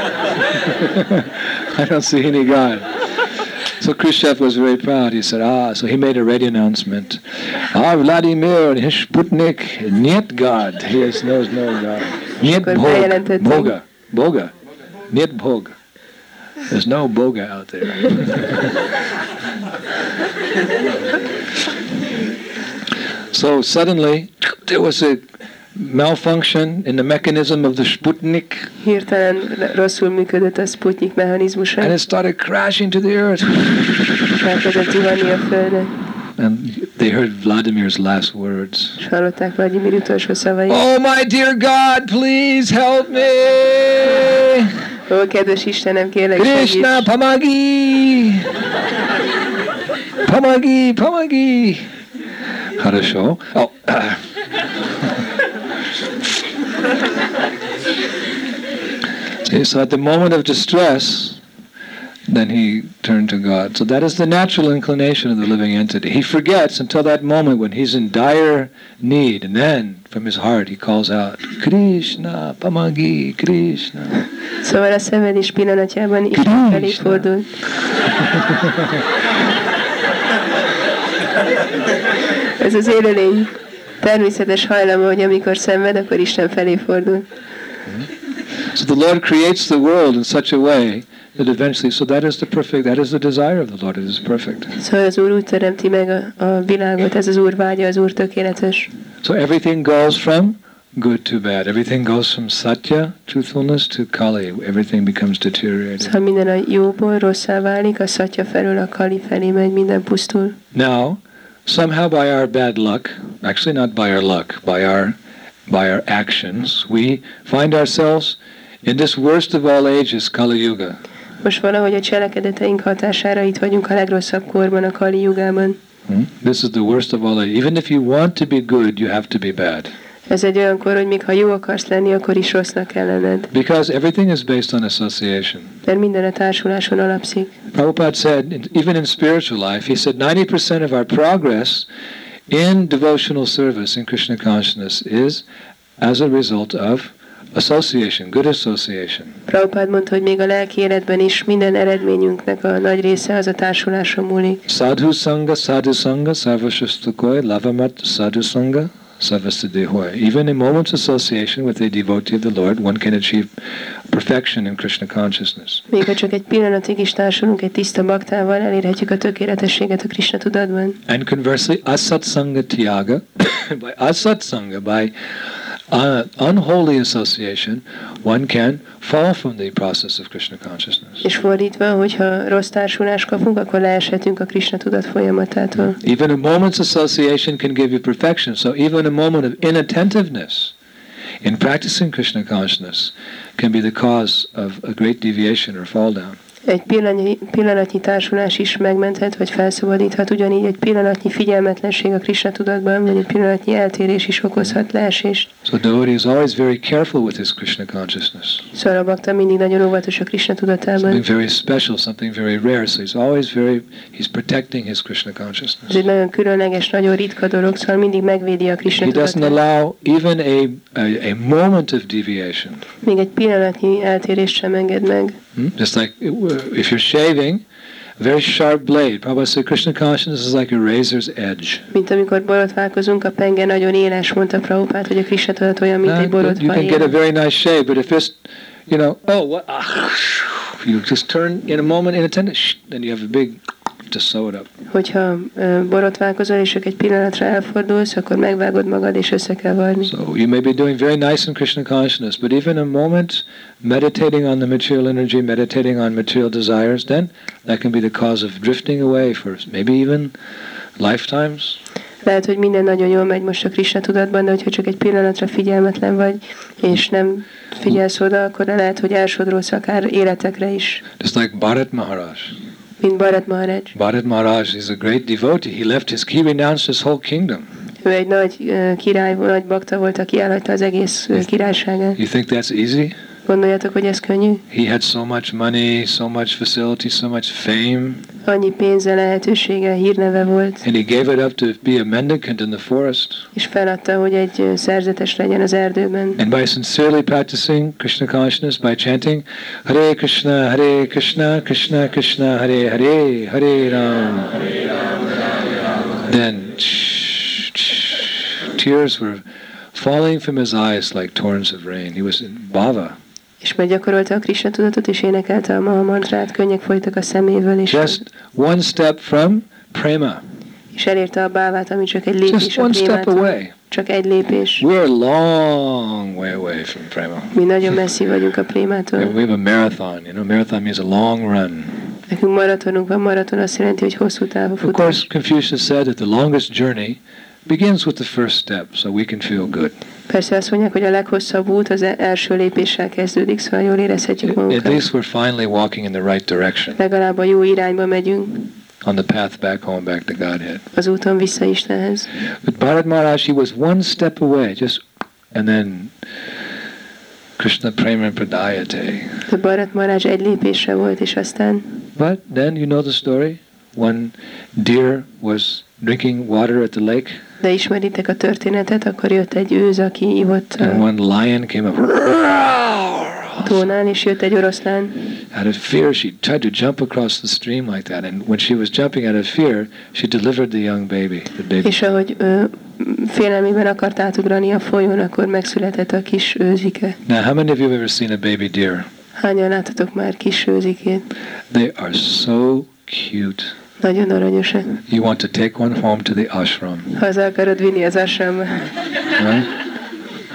S2: I don't see any God. So Khrushchev was very proud. He said, ah, so he made a radio announcement. Ah, Vladimir, his Sputnik, нет God. He has, knows no God. Нет Bog, Boga, Boga, нет Bog. There's no Boga out there. So suddenly, there was a malfunction in the mechanism of the Sputnik.
S1: Hirtelen rosszul működött a Sputnik mechanizmusa.
S2: And it started crashing to the earth.
S1: Elkezdett zuhanni a Földre.
S2: And they heard Vladimir's last words.
S1: És hallották Vladimir utolsó szavait.
S2: Oh, my dear God, please help me!
S1: Ó, kedves Istenem, kérlek,
S2: Krishna,
S1: segíts!
S2: Pamagi! Pamagi, Pamagi! Хорошо. Oh. See, so at the moment of distress, then he turned to God. So that is the natural inclination of the living entity. He forgets until that moment when he's in dire need, and then from his heart he calls out, Krishna, Pamagi, Krishna.
S1: Szóval a szenvedés pillanatjában Isten felé fordul. Ez az élőlény természetes hajlama, hogy amikor szenved, akkor Isten felé fordul.
S2: So the Lord creates the world in such a way that eventually, so that is the perfect, that is the desire of the Lord, it is perfect.
S1: Szóval az Úr úgy teremti meg a, a világot, ez az Úr vágya, az Úr tökéletes.
S2: So everything goes from good to bad. Everything goes from satya, truthfulness, to kali. Everything becomes deteriorated.
S1: Szóval minden a jóból rosszá válik, a szatya felől a kali felé megy, minden pusztul.
S2: Now, somehow by our bad luck, actually not by our luck, by our by our actions, we find ourselves in this worst of all ages, Kali Yuga.
S1: Most valahogy a cselekedeteink hatására itt vagyunk a legrosszabb korban, a Kali Jugában.
S2: Hmm? This is the worst of all ages. Even if you want to be good, you have to be bad.
S1: Ez egy olyan kor, hogy még ha jó akarsz lenni, akkor is rossznak kell lenned.
S2: Because everything is based on association.
S1: Mert minden a társuláson alapszik.
S2: Prabhupada said, even in spiritual life, he said ninety percent of our progress in devotional service in Krishna consciousness is as a result of association, good association.
S1: Prabhupada mondta, hogy még a lelki életben is minden eredményünknek a nagy része az a társuláson múlik.
S2: Sadhu sangha, sadhu sangha, sarvashastakoi, lavamat sadhu sangha, sarvasiddhihoi. Even in moments association with a devotee of the Lord, one can achieve perfection in Krishna consciousness.
S1: Még ha csak egy pillanatig is társulunk egy tiszta baktával, elérhetjük a tökéletességet a Krishna tudatban.
S2: And conversely, asat sangha tyaga, by asat sangha, by Uh, unholy association, one can fall from the process of Krishna consciousness.
S1: És fordítva, hogyha rossz társulást kapunk, akkor leeshetünk a Krishna tudat folyamatától.
S2: Even a moment's association can give you perfection. So even a moment of inattentiveness in practicing Krishna consciousness can be the cause of a great deviation or fall down.
S1: Egy pillanatnyi, pillanatnyi társulás is megmenthet, vagy felszabadíthat, ugyanígy egy pillanatnyi figyelmetlenség a Krishna tudatban, vagy egy pillanatnyi eltérés is okozhat leesést.
S2: So devotee is always very careful with his Krishna consciousness.
S1: Szóval a bakta mindig nagyon óvatos a Krishna tudatában.
S2: Something very special, something very rare. So he's always very, he's protecting his Krishna consciousness.
S1: Ez egy nagyon különleges, nagyon ritka dolog, szóval mindig megvédi a Krishna
S2: He
S1: tudatot.
S2: doesn't allow even a, a, a moment of deviation.
S1: Még egy pillanatnyi eltérést sem enged meg.
S2: Hmm? Just like if you're shaving, a very sharp blade. Prabhupada said Krishna consciousness is like a razor's edge.
S1: Mint amikor borotválkozunk, a penge nagyon éles, mondta Prabhupada, hogy a Krishna tudat olyan, mint egy borotva.
S2: You can get a very nice shave, but if it's, you know, oh, what, ah, you just turn in a moment, in a ten, then you have a big, to sew it up.
S1: Hogyha uh, borotválkozol, és csak egy pillanatra elfordulsz, akkor megvágod magad, és össze kell varni.
S2: So you may be doing very nice in Krishna consciousness, but even a moment meditating on the material energy, meditating on material desires, then that can be the cause of drifting away for maybe even lifetimes.
S1: Lehet, hogy minden nagyon jól megy most a Krishna tudatban, de hogyha csak egy pillanatra figyelmetlen vagy, és nem figyelsz oda, akkor lehet, hogy elsodródsz akár életekre is.
S2: Just like Bharat Maharaj.
S1: Mint Bharat Maharaj.
S2: Bharat Maharaj is a great devotee. He left his, he renounced his whole kingdom.
S1: Ő egy nagy uh, király, nagy bakta volt, aki elhagyta az egész uh, királyságát.
S2: You think that's easy?
S1: Gondoljátok, hogy ez könnyű?
S2: He had so much money, so much facility, so much fame.
S1: Annyi pénze, lehetősége, hírneve volt.
S2: And he gave it up to be a mendicant in the forest.
S1: És feladta, hogy egy uh, szerzetes legyen az erdőben.
S2: And by sincerely practicing Krishna consciousness, by chanting Hare Krishna, Hare Krishna, Krishna Krishna, Hare Hare, Hare Ram, then tears were falling from his eyes like torrents of rain. He was in bhava.
S1: És meggyakorolta a Krishna tudatot, és énekelte a Maha mantrát, könnyek folytak a szeméből, és,
S2: Just one step from prema.
S1: és elérte a bávát, ami csak egy lépés
S2: Just
S1: a
S2: one step
S1: prémától.
S2: away.
S1: Csak egy lépés.
S2: We're a long way away from prema.
S1: Mi nagyon messzi vagyunk a prémától.
S2: We have a marathon. You know, marathon means a long run.
S1: Nekünk maratonunk van, maraton azt jelenti, hogy hosszú távú
S2: Of
S1: futás.
S2: course, Confucius said that the longest journey begins with the first step, so we can feel good.
S1: Persze azt mondják, hogy a leghosszabb út az első lépéssel kezdődik, szóval jól érezhetjük
S2: At
S1: magunkat.
S2: least we're finally walking in the right direction,
S1: Legalább a jó irányba megyünk,
S2: on the path back home, back to Godhead.
S1: az úton vissza Istenhez.
S2: But Bharat Maharaj, he was one step away, just, and then Krishna Prema Pradayate.
S1: De Bharat Maharaj egy lépésre volt, és aztán...
S2: But then, you know the story? One deer was drinking water at the lake,
S1: De ismeritek a történetet, akkor jött egy őz, aki ivott
S2: and
S1: a
S2: one lion came up.
S1: tónán, és jött egy oroszlán.
S2: Out of fear, she tried to jump across the stream like that, and when she was jumping out of fear, she delivered the young baby, the baby.
S1: És ahogy ö, félelmében akart átugrani a folyón, akkor megszületett a kis őzike.
S2: Now, how many of you have ever seen a baby deer?
S1: Hányan láttatok már kis őzikét?
S2: They are so cute.
S1: Nagyon aranyosak.
S2: You want to take one home to the ashram.
S1: Haza akarod vinni az asramba.
S2: Right? Oh,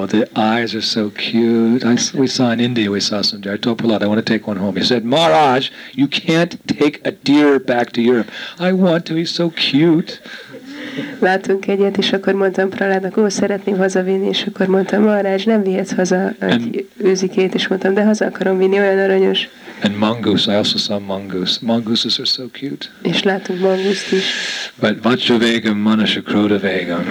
S2: Oh, the eyes are so cute. I, we saw in India, we saw some deer. I told Prahlad, I want to take one home. He said, Maharaj, you can't take a deer back to Europe. I want to, he's so cute.
S1: Látunk egyet, és akkor mondtam Prahládnak, ó, szeretném hazavinni, és akkor mondtam, Maharaj, nem vihetsz haza egy őzikét, és mondtam, de haza akarom vinni, olyan aranyos.
S2: And mongoose, I also saw mongoose. Mongooses are so cute.
S1: És látunk manguszt is.
S2: But Vajravegam Manashakrodavegam.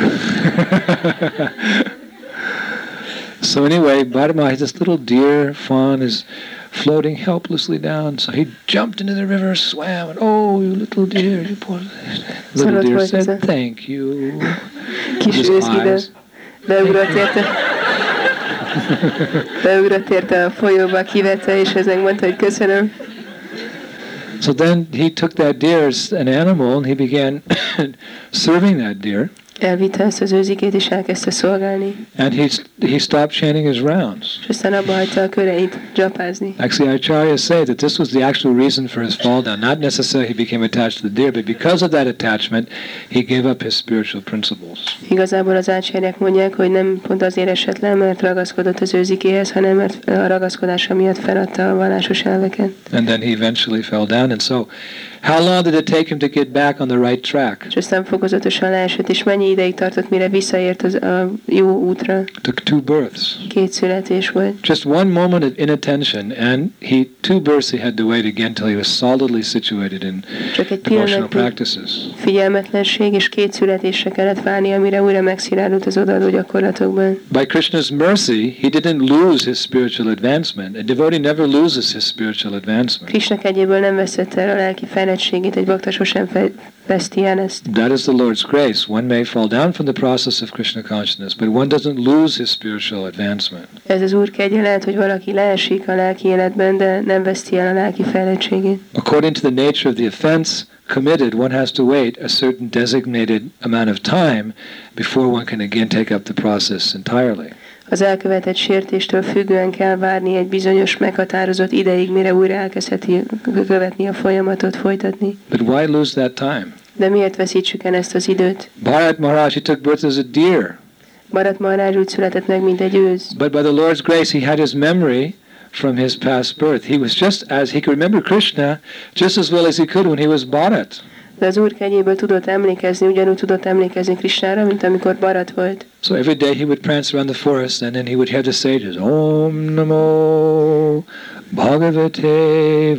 S2: So anyway, Bharma, this little deer fawn is floating helplessly down. So he jumped into the river, swam, and oh, you little deer, you poor little deer said, thank you.
S1: Kis őszide beugrott érte, beugrott érte a folyóba, kivette, és ezek mondta, hogy köszönöm.
S2: So then he took that deer as an animal and he began serving that deer.
S1: Elvitte ezt az őzikét, és elkezdte szolgálni.
S2: And he, he stopped chanting his rounds.
S1: És aztán abba hagyta a köreit dzsapázni.
S2: Actually, acharyas say that this was the actual reason for his fall down. Not necessarily he became attached to the deer, but because of that attachment, he gave up his spiritual principles.
S1: Igazából az ácsárják mondják, hogy nem pont azért esett le, mert ragaszkodott az őzikéhez, hanem mert a ragaszkodása miatt feladta a vallásos elveket.
S2: And then he eventually fell down. And so, how long did it take him to get back on the right track?
S1: És aztán fokozatosan leesett, és mennyi ideig tartott, mire visszaért az, a jó útra?
S2: Took two births.
S1: Két születés volt.
S2: Just one moment of inattention, and he two births he had to wait again till he was solidly situated in devotional practices.
S1: Figyelmetlenség, és két születésre kellett várni, amire újra megszilárult az odaadó gyakorlatokban.
S2: By Krishna's mercy, he didn't lose his spiritual advancement. A devotee never loses his spiritual advancement.
S1: Krishna kegyéből nem veszett el a lelki fejlettségét, egy bakta sosem veszti el ezt.
S2: That is the Lord's grace. One may fall down from the process of Krishna consciousness, but one doesn't lose his spiritual advancement.
S1: Ez az Úr kegye, lehet, hogy valaki leesik a lelki életben, de nem veszti el a lelki fejlettségét.
S2: According to the nature of the offense committed, one has to wait a certain designated amount of time before one can again take up the process entirely.
S1: Az elkövetett sértéstől függően kell várni egy bizonyos meghatározott ideig, mire újra elkezdheti követni a folyamatot, folytatni.
S2: But why lose that time?
S1: De miért veszítsük el ezt az időt?
S2: Bharat Maharaj, he took birth as a deer.
S1: Bharat Maharaj úgy született meg, mint egy őz.
S2: But by the Lord's grace, he had his memory from his past birth. He was just as he could remember Krishna just as well as he could when he was Bharat.
S1: De az Úr kegyéből tudott emlékezni, ugyanúgy tudott emlékezni Krishnára, mint amikor Bharat volt.
S2: So every day he would prance around the forest and then he would hear the sages, Om Namo Bhagavate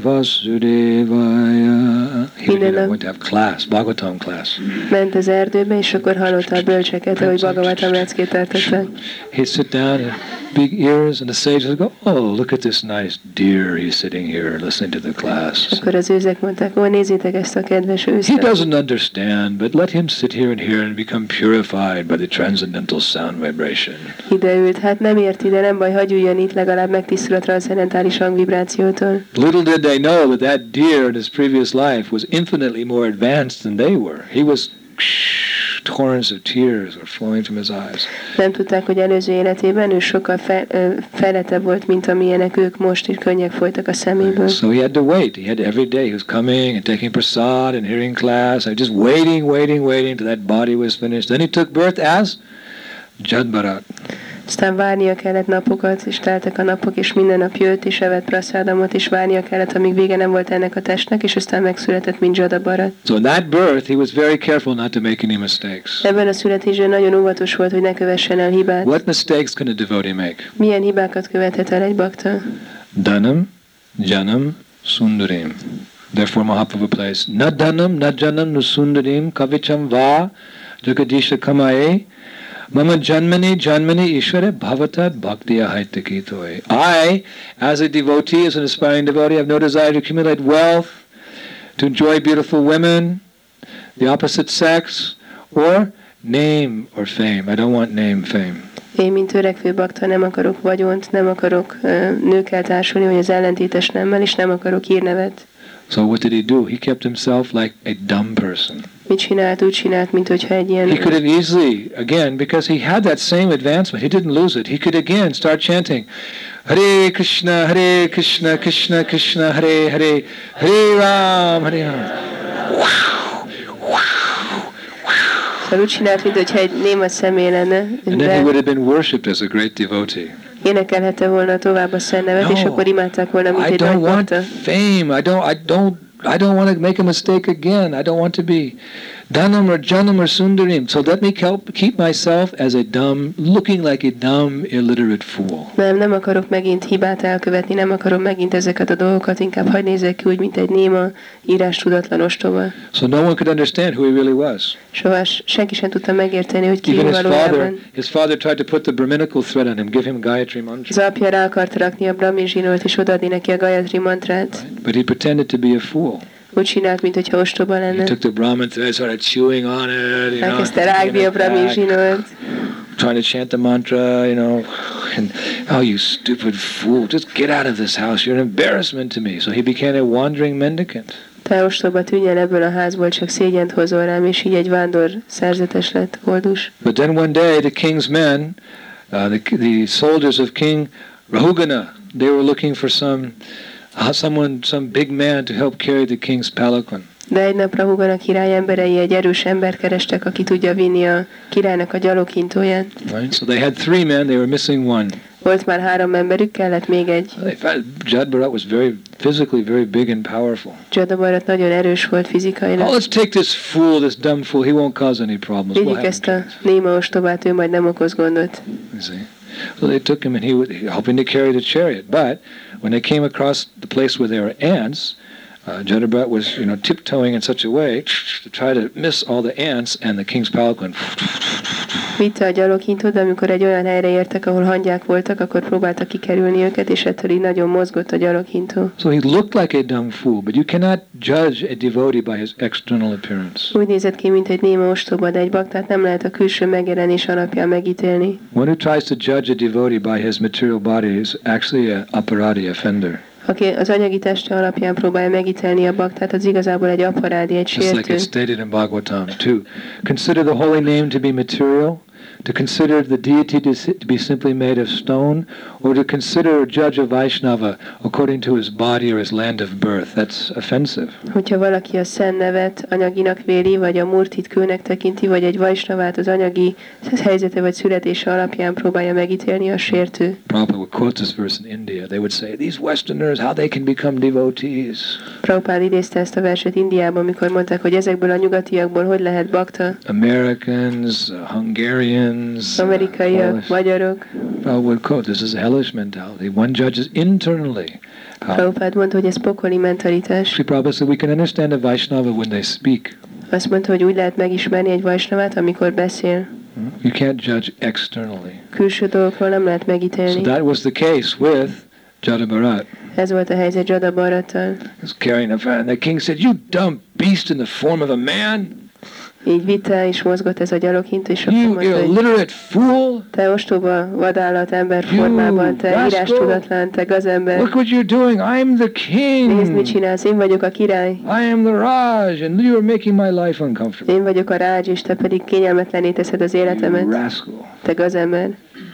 S2: Vasudevaya. He would you know, went to have class, Bhagavatam class.
S1: Ment az erdőbe, és akkor hallotta a bölcseket, hogy Bhagavatam leckét tartottak.
S2: He'd sit down and big ears, and the sages would go, oh, look at this nice deer, he's sitting here listening to the class.
S1: Akkor az őzek mondták, ó, nézzétek ezt a kedves őzt.
S2: He doesn't understand, but let him sit here and hear and become purified by the transcendental sound vibration.
S1: Ideült, hát nem érti, de nem baj, hagyj üljen itt, legalább megtisztul a transzendentális hangvibrációtól.
S2: Little did they know that that deer in his previous life was infinitely more advanced than they were. He was torrents of tears were flowing from his eyes.
S1: Nem tudták, hogy előző életében ő sokkal fe, fejlettebb volt, mint amilyenek ők most, és könnyek folytak a szeméből.
S2: So he had to wait. He had to, every day he was coming and taking prasad and hearing class and just waiting, waiting, waiting till that body was finished. Then he took birth as Jadbharat.
S1: Aztán várnia kellett napokat, és teltek a napok, és minden nap jött, és evett praszádamot, és várnia kellett, amíg vége nem volt ennek a testnek, és aztán megszületett, mint Jadabharat.
S2: So in that birth, he was very careful not to make any mistakes.
S1: Ebben a születésben nagyon óvatos volt, hogy ne kövessen el hibát.
S2: What mistakes can a devotee make?
S1: Milyen hibákat követhet el egy bakta?
S2: Dhanam, janam, sundarim. Therefore Mahaprabhu plays, na dhanam, na janam, nu sundarim, kavicham va, jagadisha kamae, Mama janmani janmani ishvara bhavatat bhaktiya haitakitoi. I, as a devotee, as an aspiring devotee, have no desire to accumulate wealth, to enjoy beautiful women, the opposite sex, or name or fame. I don't want name, fame.
S1: Én, mint törekvő bakta, nem akarok vagyont, nem akarok uh, nőkkel társulni, vagy az ellentétes nemmel, és nem akarok hírnevet.
S2: So what did he do? He kept himself like a dumb person.
S1: Mit csinált? Úgy csinált, mint hogyha egy ilyen...
S2: He could have easily, again, because he had that same advancement, he didn't lose it. He could again start chanting, Hare Krishna, Hare Krishna, Krishna Krishna, Hare Hare, Hare Ram, Hare Ram.
S1: Szóval úgy csinált, mintha egy néma személy lenne,
S2: And then he would have been worshipped as a great devotee.
S1: énekelhette volna tovább a Szent Nevet,
S2: No,
S1: és akkor imádták volna, mint
S2: I
S1: egy nagy
S2: don't want
S1: bakta.
S2: fame. I don't. I don't. I don't want to make a mistake again. I don't want to be Dhanam or Janam or Sundarim. So let me help keep myself as a dumb, looking like a dumb, illiterate fool.
S1: Nem, nem akarok megint hibát elkövetni, nem akarom megint ezeket a dolgokat, inkább hadd nézzek ki úgy, mint egy néma, írástudatlan ostoba.
S2: So no one could understand who he really was.
S1: Soha senki sem tudta megérteni, hogy ki
S2: Even his father,
S1: valójában.
S2: his father tried to put the Brahminical thread on him, give him Gayatri mantra.
S1: Az apja rá akart rakni a Brahmi zsinót, és odaadni neki a Gayatri mantrát.
S2: But he pretended to be a fool.
S1: Úgy csinált, mintha ostoba
S2: He
S1: lenne.
S2: took the Brahmin thread, started chewing on it, you know,
S1: Elkezdte rágni a Brahmi zsinót.
S2: trying to chant the mantra, you know, and oh, you stupid fool, just get out of this house. You're an embarrassment to me. So he became a wandering mendicant.
S1: Te ostoba, tűnj el ebből a házból, csak szégyent hozol rám, és így egy vándor szerzetes lett, koldus.
S2: But then one day the king's men, uh, the, the soldiers of King Rahugana, they were looking for some, uh, someone, some big man to help carry the king's palanquin.
S1: De egy nap Rahugana király emberei egy erős embert kerestek, aki tudja vinni a királynak a gyaloghintóját.
S2: Right? So they had three men, they were missing one.
S1: Volt már három emberük, kellett még egy.
S2: They found Jad Bharat was very, physically very big and powerful.
S1: Jada Bharat nagyon erős volt fizikailag.
S2: Oh, let's take this fool, this dumb fool, he won't cause any problems. We'll
S1: Vigyük
S2: have
S1: ezt
S2: him
S1: a
S2: killed.
S1: néma ostobát, ő majd nem okoz gondot.
S2: You see? So they took him and he was helping to carry the chariot. But when they came across the place where there were ants, uh, Jada Bharat was, you know, tiptoeing in such a way to try to miss all the ants, and the king's palanquin.
S1: Vitte a gyaloghintót, de amikor egy olyan helyre értek, ahol hangyák voltak, akkor próbálta kikerülni őket, és ettől így nagyon mozgott a gyaloghintó.
S2: So he looked like a dumb fool, but you cannot judge a devotee by his external appearance.
S1: Úgy nézett ki, mint egy néma ostoba, de egy baktát nem lehet a külső megjelenés alapján megítélni.
S2: One who tries to judge a devotee by his material body is actually an aparadi offender.
S1: Aki az anyagi teste alapján próbálja megítélni a baktát, az igazából egy aparádi, egy
S2: Just like
S1: sértő.
S2: it's stated in Bhagavatam. To consider the holy name to be material, to consider the deity to si- to be simply made of stone, or to consider or judge a Vaishnava according to his body or his land of birth. That's offensive.
S1: Hogyha valaki a szent nevet anyaginak véli, vagy a murtit kőnek tekinti, vagy egy vajsnavát az anyagi helyzete vagy születése alapján próbálja megítélni, a sértő.
S2: Prabhupada would quote this verse in India. They would say, these Westerners, how they can become devotees.
S1: Prabhupád idézte ezt a verset Indiában, amikor mondták, hogy ezekből a nyugatiakból hogy lehet bakta.
S2: Americans, uh, Hungarians, uh,
S1: Amerikaiak,
S2: Polish.
S1: magyarok.
S2: Prabhupada would quote, this is a hellish mentality. One judges internally. How?
S1: Prabhupád mondta, hogy ez pokoli mentalitás.
S2: Sri Prabhupada said, we can understand a Vaishnava when they speak.
S1: Azt mondta, hogy úgy lehet megismerni egy vajsnavát, amikor beszél.
S2: You can't judge externally.
S1: Külső dolgokról nem lehet
S2: So
S1: megítélni.
S2: that was the case with Jada Bharat.
S1: Ez volt a helyzet Jada Bharattal.
S2: He was carrying a fan. And the king said, you dumb beast in the form of a man.
S1: Így vitte és mozgott ez a gyaloghintó, és akkor
S2: You
S1: mondta, hogy
S2: illiterate fool.
S1: te ostoba vadállat ember
S2: You
S1: formában, te
S2: rascal.
S1: írástudatlan, te gazember.
S2: Look what you're doing. I'm the
S1: Nézd, mit
S2: king.
S1: csinálsz, én vagyok a király.
S2: I am the Raj, and you are making my life uncomfortable.
S1: Én vagyok a rádzs, és te pedig kényelmetlené teszed az
S2: You
S1: életemet.
S2: rascal.
S1: Te gazember.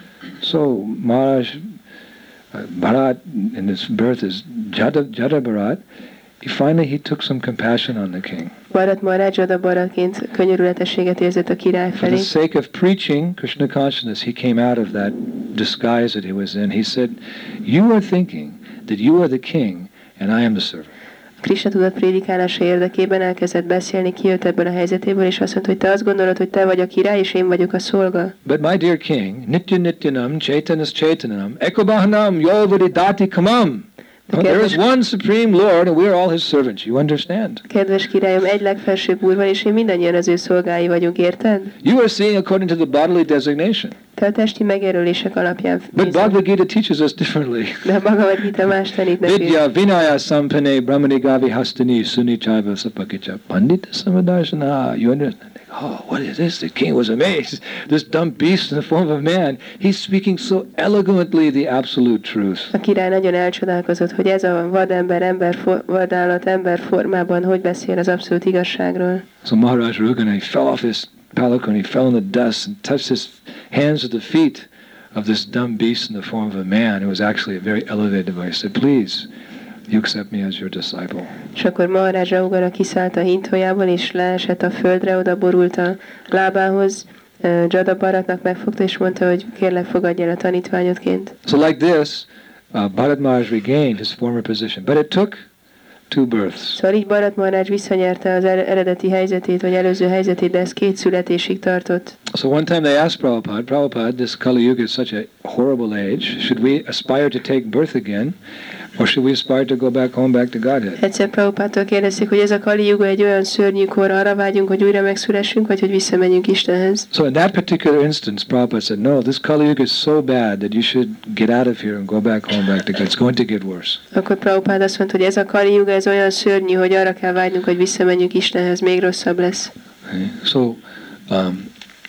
S2: So Maharaj uh, Bharat, in his birth is Jada, Jada Bharat. He finally he took some compassion on the king.
S1: Bharat Maharaj Jada Bharatként könyörületességet érzett a király
S2: For the
S1: felé.
S2: sake of preaching Krishna consciousness, he came out of that disguise that he was in. He said, you are thinking that you are the king and I am the servant.
S1: Krishna tudat prédikálása érdekében elkezdett beszélni, kijött ebből a helyzetéből, és azt mondta, hogy te azt gondolod, hogy te vagy a király, és én vagyok a szolga.
S2: But my dear king, Nitya Nityanam, Chaitanas Chaitanam, Ekobahanam, Yolvadidati Kamam. Well, there is one supreme Lord and we are all his servants. You understand?
S1: Kedves királyom, egy legfelsőbb úr van, és én mindannyian az ő szolgái vagyunk, érted?
S2: You are seeing according to the bodily designation.
S1: Te a testi megjelölések alapján
S2: But
S1: nézel.
S2: Bhagavad Gita teaches us differently.
S1: De a Bhagavad Gita más tanít nekünk.
S2: Vidya vinaya sampane brahmani gavi hastani suni chaiva sapakicha pandita samadarshana. You understand? Oh, what is this? The king was amazed. This dumb beast in the form of a man. He's speaking so eloquently the absolute truth.
S1: A király nagyon elcsodálkozott, hogy ez a vadember, ember, for, vadállat ember formában hogy beszél az abszolút igazságról.
S2: So Maharaj Rugana, he fell off his palanquin, he fell in the dust and touched his hands to the feet of this dumb beast in the form of a man who was actually a very elevated device. He said, please, you accept me as your disciple.
S1: És akkor Maharaj Raghunath kiszállt a hintójából, és leesett a földre, oda borult a lábához. Jada Bharatnak megfogta, és mondta, hogy kérlek, fogadj el a tanítványodként.
S2: So like this, uh, Bharat Maharaj regained his former position, but it took two births.
S1: Szóval így Bharat Maharaj visszanyerte az eredeti helyzetét, vagy előző helyzetét, de ez két születésig tartott.
S2: So one time they asked Prabhupada, Prabhupada, this Kali Yuga is such a horrible age, should we aspire to take birth again, or should we aspire to go back home, back to Godhead?
S1: Egyszer Prabhupádtól kérdezték, hogy ez a Kali Yuga egy olyan szörnyű kor, arra vágyunk, hogy újra megszülessünk, vagy hogy visszamenjünk Istenhez.
S2: So in that particular instance, Prabhupada said, no, this Kali Yuga is so bad that you should get out of here and go back home, back to God. It's going to get worse.
S1: Akkor Prabhupád azt mondta, hogy ez a Kali Yuga, ez olyan szörnyű, hogy arra kell vágynunk, hogy visszamenjünk Istenhez, még rosszabb lesz.
S2: Okay. So, um,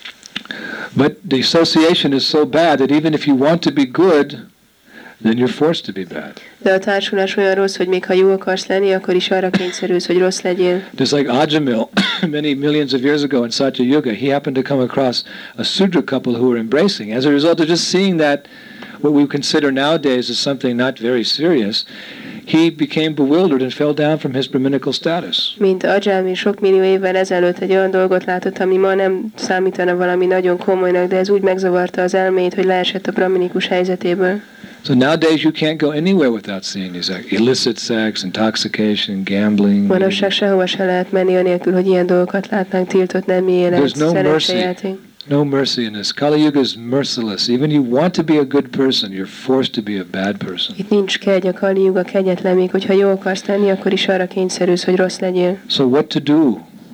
S2: but the association is so bad that even if you want to be good, then you're forced to be bad.
S1: De a társulás olyan rossz, hogy még ha jó akarsz lenni, akkor is arra kényszerülsz, hogy rossz legyél.
S2: Just like Ajamil, many millions of years ago in Satya Yuga, he happened to come across a Sudra couple who were embracing. As a result of just seeing that, what we consider nowadays as something not very serious, he became bewildered and fell down from his Brahminical status.
S1: Mint Ajamil sok millió évvel ezelőtt egy olyan dolgot látott, ami ma nem számítana valami nagyon komolynak, de ez úgy megzavarta az elméjét, hogy leesett a brahminikus helyzetéből.
S2: So nowadays you can't go anywhere without seeing these illicit sex, intoxication, gambling.
S1: Manapság sehova se lehet menni anélkül, hogy ilyen dolgokat látnánk, tiltott nemi élet, szerencsejáték.
S2: No mercy in this. Kali Yuga is merciless. Even you want to be a good person, you're forced to be a bad person.
S1: Itt nincs kegy, a Kali Yuga kegyetlen, még hogyha jó akarsz lenni, akkor is arra kényszerülsz, hogy rossz legyél.
S2: So what to do?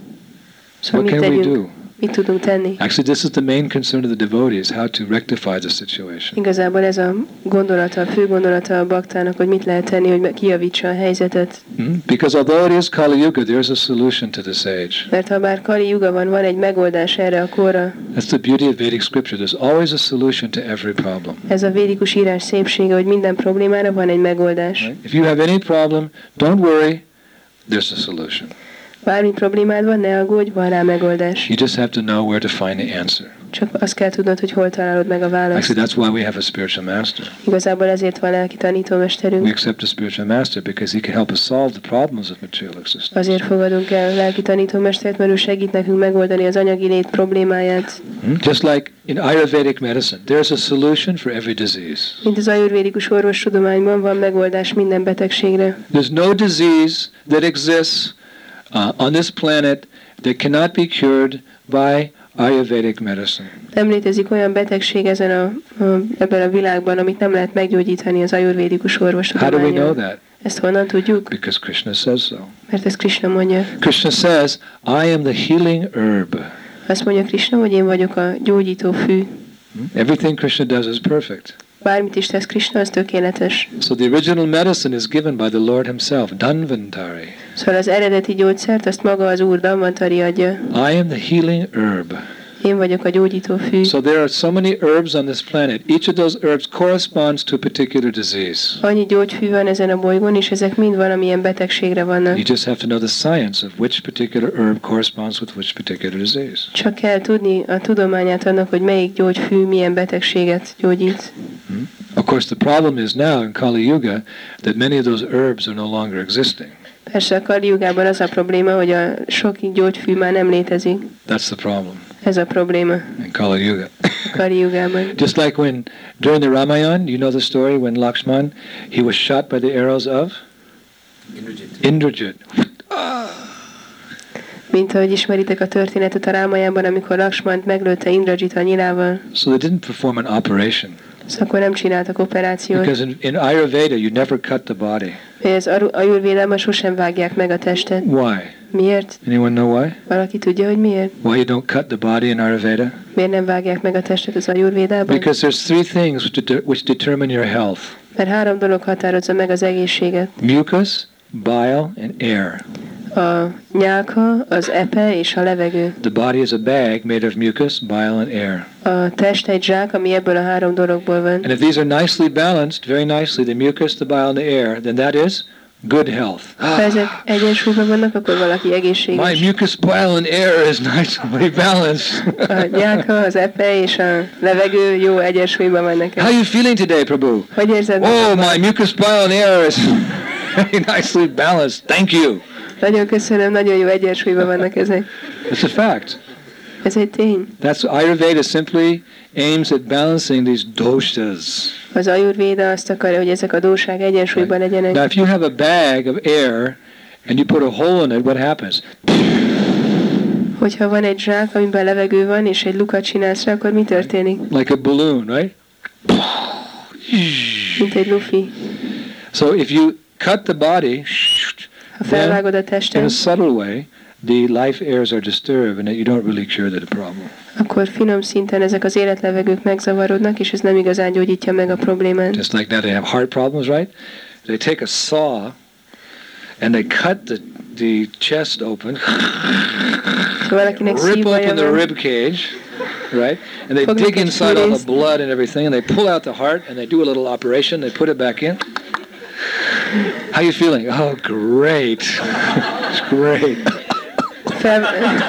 S1: Szóval
S2: what
S1: mit
S2: can
S1: tegyünk?
S2: we do?
S1: Mit tudunk tenni?
S2: Actually, this is the main concern of the devotees, how to rectify the situation.
S1: Igazából ez a gondolata, a fő gondolata a baktának, hogy mit lehet tenni, hogy kijavítsa a helyzetet.
S2: Hmm? Because although it is Kali Yuga, there's a solution to this age.
S1: Mert ha bár Kali Yuga van, van egy megoldás erre a korra.
S2: That's the beauty of Vedic scripture. There's always a solution to every problem.
S1: Ez a védikus írás szépsége, hogy minden problémára van egy megoldás.
S2: Right? If you have any problem, don't worry, there's a solution.
S1: Bármi problémád van, ne aggódj, van rá megoldás.
S2: You just have to know where to find the answer.
S1: Csak azt kell tudnod, hogy hol találod meg a választ.
S2: Actually, that's why we have a spiritual master.
S1: Igazából ezért van lelki tanítómesterünk.
S2: We accept a spiritual master because he can help us solve the problems of material existence.
S1: Azért fogadunk el lelki tanítómestert, mert ő segít nekünk megoldani az anyagi lét problémáját.
S2: Hmm? Just like in Ayurvedic medicine, there's a solution for every disease.
S1: Mint az ajurvédikus orvostudományban van megoldás minden betegségre.
S2: There's no disease that exists Uh, on this planet that cannot be cured by Ayurvedic medicine.
S1: Nem létezik olyan betegség ezen a, a, ebben a világban, amit nem lehet meggyógyítani az ajurvédikus orvostudománnyal.
S2: How do we know that?
S1: Ezt honnan tudjuk?
S2: Because Krishna says so.
S1: Mert ezt Krishna mondja.
S2: Krishna says, I am the healing herb.
S1: Azt mondja Krishna, hogy én vagyok a gyógyító fű.
S2: Everything Krishna does is perfect.
S1: Bármit is tesz Krishna, az tökéletes.
S2: So the original medicine is given by the Lord himself, Dhanvantari.
S1: Szóval az eredeti gyógyszert azt maga az Úr Dhanvantari adja.
S2: I am the healing herb.
S1: Én vagyok a gyógyító fű.
S2: So there are so many herbs on this planet. Each of those herbs corresponds to a particular disease.
S1: Annyi gyógyfű van ezen a bolygón, és ezek mind valamilyen betegségre vannak.
S2: You just have to know the science of which particular herb corresponds with which particular disease.
S1: Csak kell tudni a tudományát annak, hogy melyik gyógyfű milyen betegséget gyógyít.
S2: Hmm? Of course, the problem is now in Kali Yuga that many of those herbs are no longer existing.
S1: Persze a Kali Yugában az a probléma, hogy a sok gyógyfű már nem létezik.
S2: That's the problem.
S1: Ez a probléma.
S2: In Kali Yuga.
S1: A Kali Yugában.
S2: Just like when during the Ramayana, you know the story when Lakshman, he was shot by the arrows of Indrajit. Indrajit.
S1: Mint ahogy ismeritek a történetet a Rámajánban, amikor Lakshmant meglőtte Indrajit a nyilával.
S2: So they didn't perform an operation.
S1: Szóval akkor nem csináltak operációt.
S2: Because in, in Ayurveda you never cut the body.
S1: Ez Ayurvédában sosem vágják meg a testet.
S2: Why?
S1: Miért?
S2: Anyone know why?
S1: Valaki tudja, hogy miért?
S2: Why you don't cut the body in Ayurveda?
S1: Miért nem vágják meg a testet az Ayurvédában?
S2: Because there's three things which, de- which determine your health.
S1: Mert három dolog határozza meg az egészséget.
S2: Mucus, bile, and air.
S1: A nyálka, az epe és a levegő.
S2: The body is a bag made of mucus, bile, and air.
S1: A test egy zsák, ami ebből a három dologból van.
S2: And if these are nicely balanced, very nicely, the mucus, the bile, and the air, then that is good health.
S1: Ha ezek egyensúlyban vannak, akkor valaki egészséges.
S2: My mucus, bile, and air is nicely balanced.
S1: A nyálka, az epe és a levegő jó egyensúlyban van nekem.
S2: How are you feeling today, Prabhu?
S1: Hogy érzed?
S2: Oh, my mucus, bile, and air is Very nicely balanced. Thank you.
S1: Nagyon köszönöm, nagyon jó egyensúlyban vannak ezek.
S2: It's a fact.
S1: Ez egy tény.
S2: That's Ayurveda simply aims at balancing these doshas.
S1: Az Ayurvéda azt akarja, hogy ezek a dósák egyensúlyban legyenek.
S2: Now, if you have a bag of air and you put a hole in it, what happens?
S1: Hogyha van egy zsák, amiben levegő van, és egy lukat csinálsz rá, akkor mi történik?
S2: Like a balloon, right?
S1: Mint egy lufi.
S2: So if you cut the body,
S1: Ha felvágod a
S2: in a
S1: testet,
S2: subtle way, the life airs are disturbed, and that you don't really cure the problem.
S1: akkor finom szinten ezek az életlevegők megzavarodnak, és ez nem igazán gyógyítja meg a problémát.
S2: Just like that, they have heart problems, right? They take a saw and they cut the the chest open,
S1: valakinek
S2: rip
S1: szívbaja
S2: open the
S1: van,
S2: rib cage, right? And they
S1: Fognak
S2: dig
S1: egy
S2: inside all the
S1: fűrészt.
S2: blood and everything, and they pull out the heart, and they do a little operation. They put it back in. How you feeling? Oh, great! It's great.
S1: fel,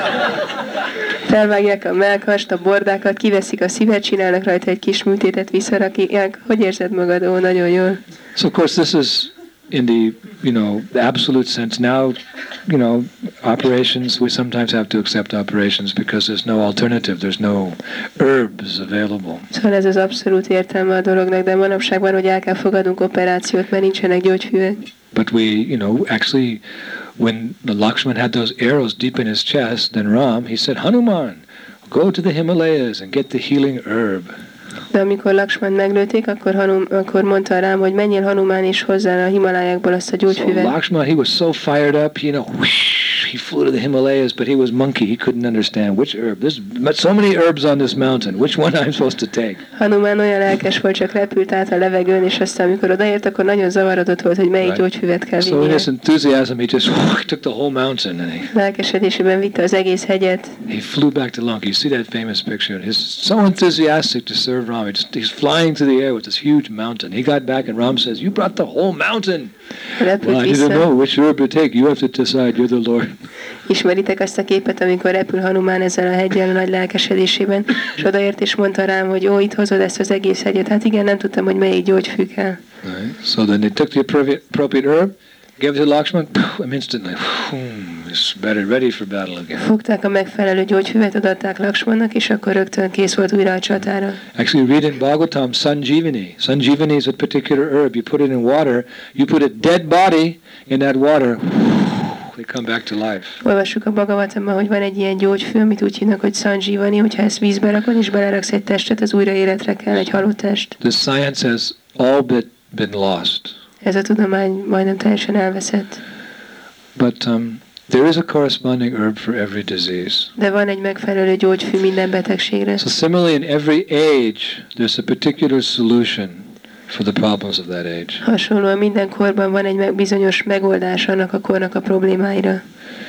S1: felvágják a mellkast, a bordákat, kiveszik a szívet, csinálnak rajta egy kis műtétet, visszarakják. Hogy érzed magad? Ó, nagyon jól.
S2: So of course this is in the, you know, the absolute sense. Now, you know, operations, we sometimes have to accept operations because there's no alternative. There's no herbs available.
S1: Szóval ez az abszolút értelme a dolognak, de manapság van, hogy el kell fogadnunk operációt, mert nincsenek gyógyfüvek.
S2: But we, you know, actually, when the Lakshman had those arrows deep in his chest, then Ram, he said, Hanuman, go to the Himalayas and get the healing herb.
S1: De amikor Lakshman meglőtték, akkor, Hanum, akkor mondta rám, hogy menjél Hanumán és hozzá a Himalájákból azt a
S2: So
S1: gyógyfüvet.
S2: Lakshman, he was so fired up, you know, whoosh, he flew to the Himalayas, but he was monkey. He couldn't understand which herb. There's so many herbs on this mountain. Which one I'm supposed to take?
S1: Hanumán olyan lelkes volt, csak repült át a levegőn, és aztán amikor odaért, akkor nagyon zavarodott volt, hogy melyik
S2: Right.
S1: gyógyfüvet kell
S2: So in
S1: vinnie.
S2: his enthusiasm, he just whoosh, took the whole mountain and he,
S1: Lelkesedésében vitte az egész hegyet.
S2: he flew back to Lanka. You see that famous picture? He's so enthusiastic to serve Ram. He's, he's flying to the air with this huge mountain. He got back and Ram says, you brought the whole mountain.
S1: Repült
S2: Well, I didn't
S1: vissza.
S2: know which herb to take. You have to decide. You're the Lord.
S1: Ismeritek azt a képet, amikor repül Hanumán ezzel a heggyel a nagy lelkesedésében, és odaért és mondta rám, hogy ó, itt hozod ezt az egész hegyet. Hát igen, nem tudtam, hogy melyik gyógyfű kell.
S2: Right. So then they took the appropriate, appropriate herb, gave it to Lakshman, and instantly, boom, he's better, ready for battle again.
S1: Fogták a megfelelő gyógyfüvet, odaadták Lakshmannak, és akkor rögtön kész volt újra a csatára.
S2: Actually, read in Bhagavatam, Sanjivani. Sanjivani is a particular herb. You put it in water, you put a dead body in that water, they come back to life.
S1: Olvassuk a Bhagavatamban, hogy van egy ilyen gyógyfű, amit úgy hívnak, hogy Sanjivani, hogyha ezt vízbe rakod és beleraksz egy testet, az újra életre kell, egy halott test.
S2: The science has all but been lost.
S1: Ez a tudomány majdnem teljesen elveszett.
S2: But um, there is a corresponding herb for every disease.
S1: De van egy megfelelő gyógyfű minden betegségre.
S2: So similarly, in every age, there's a particular solution for the problems of that age.
S1: Hasonlóan minden korban van egy meg- bizonyos megoldás annak a kornak a problémáira.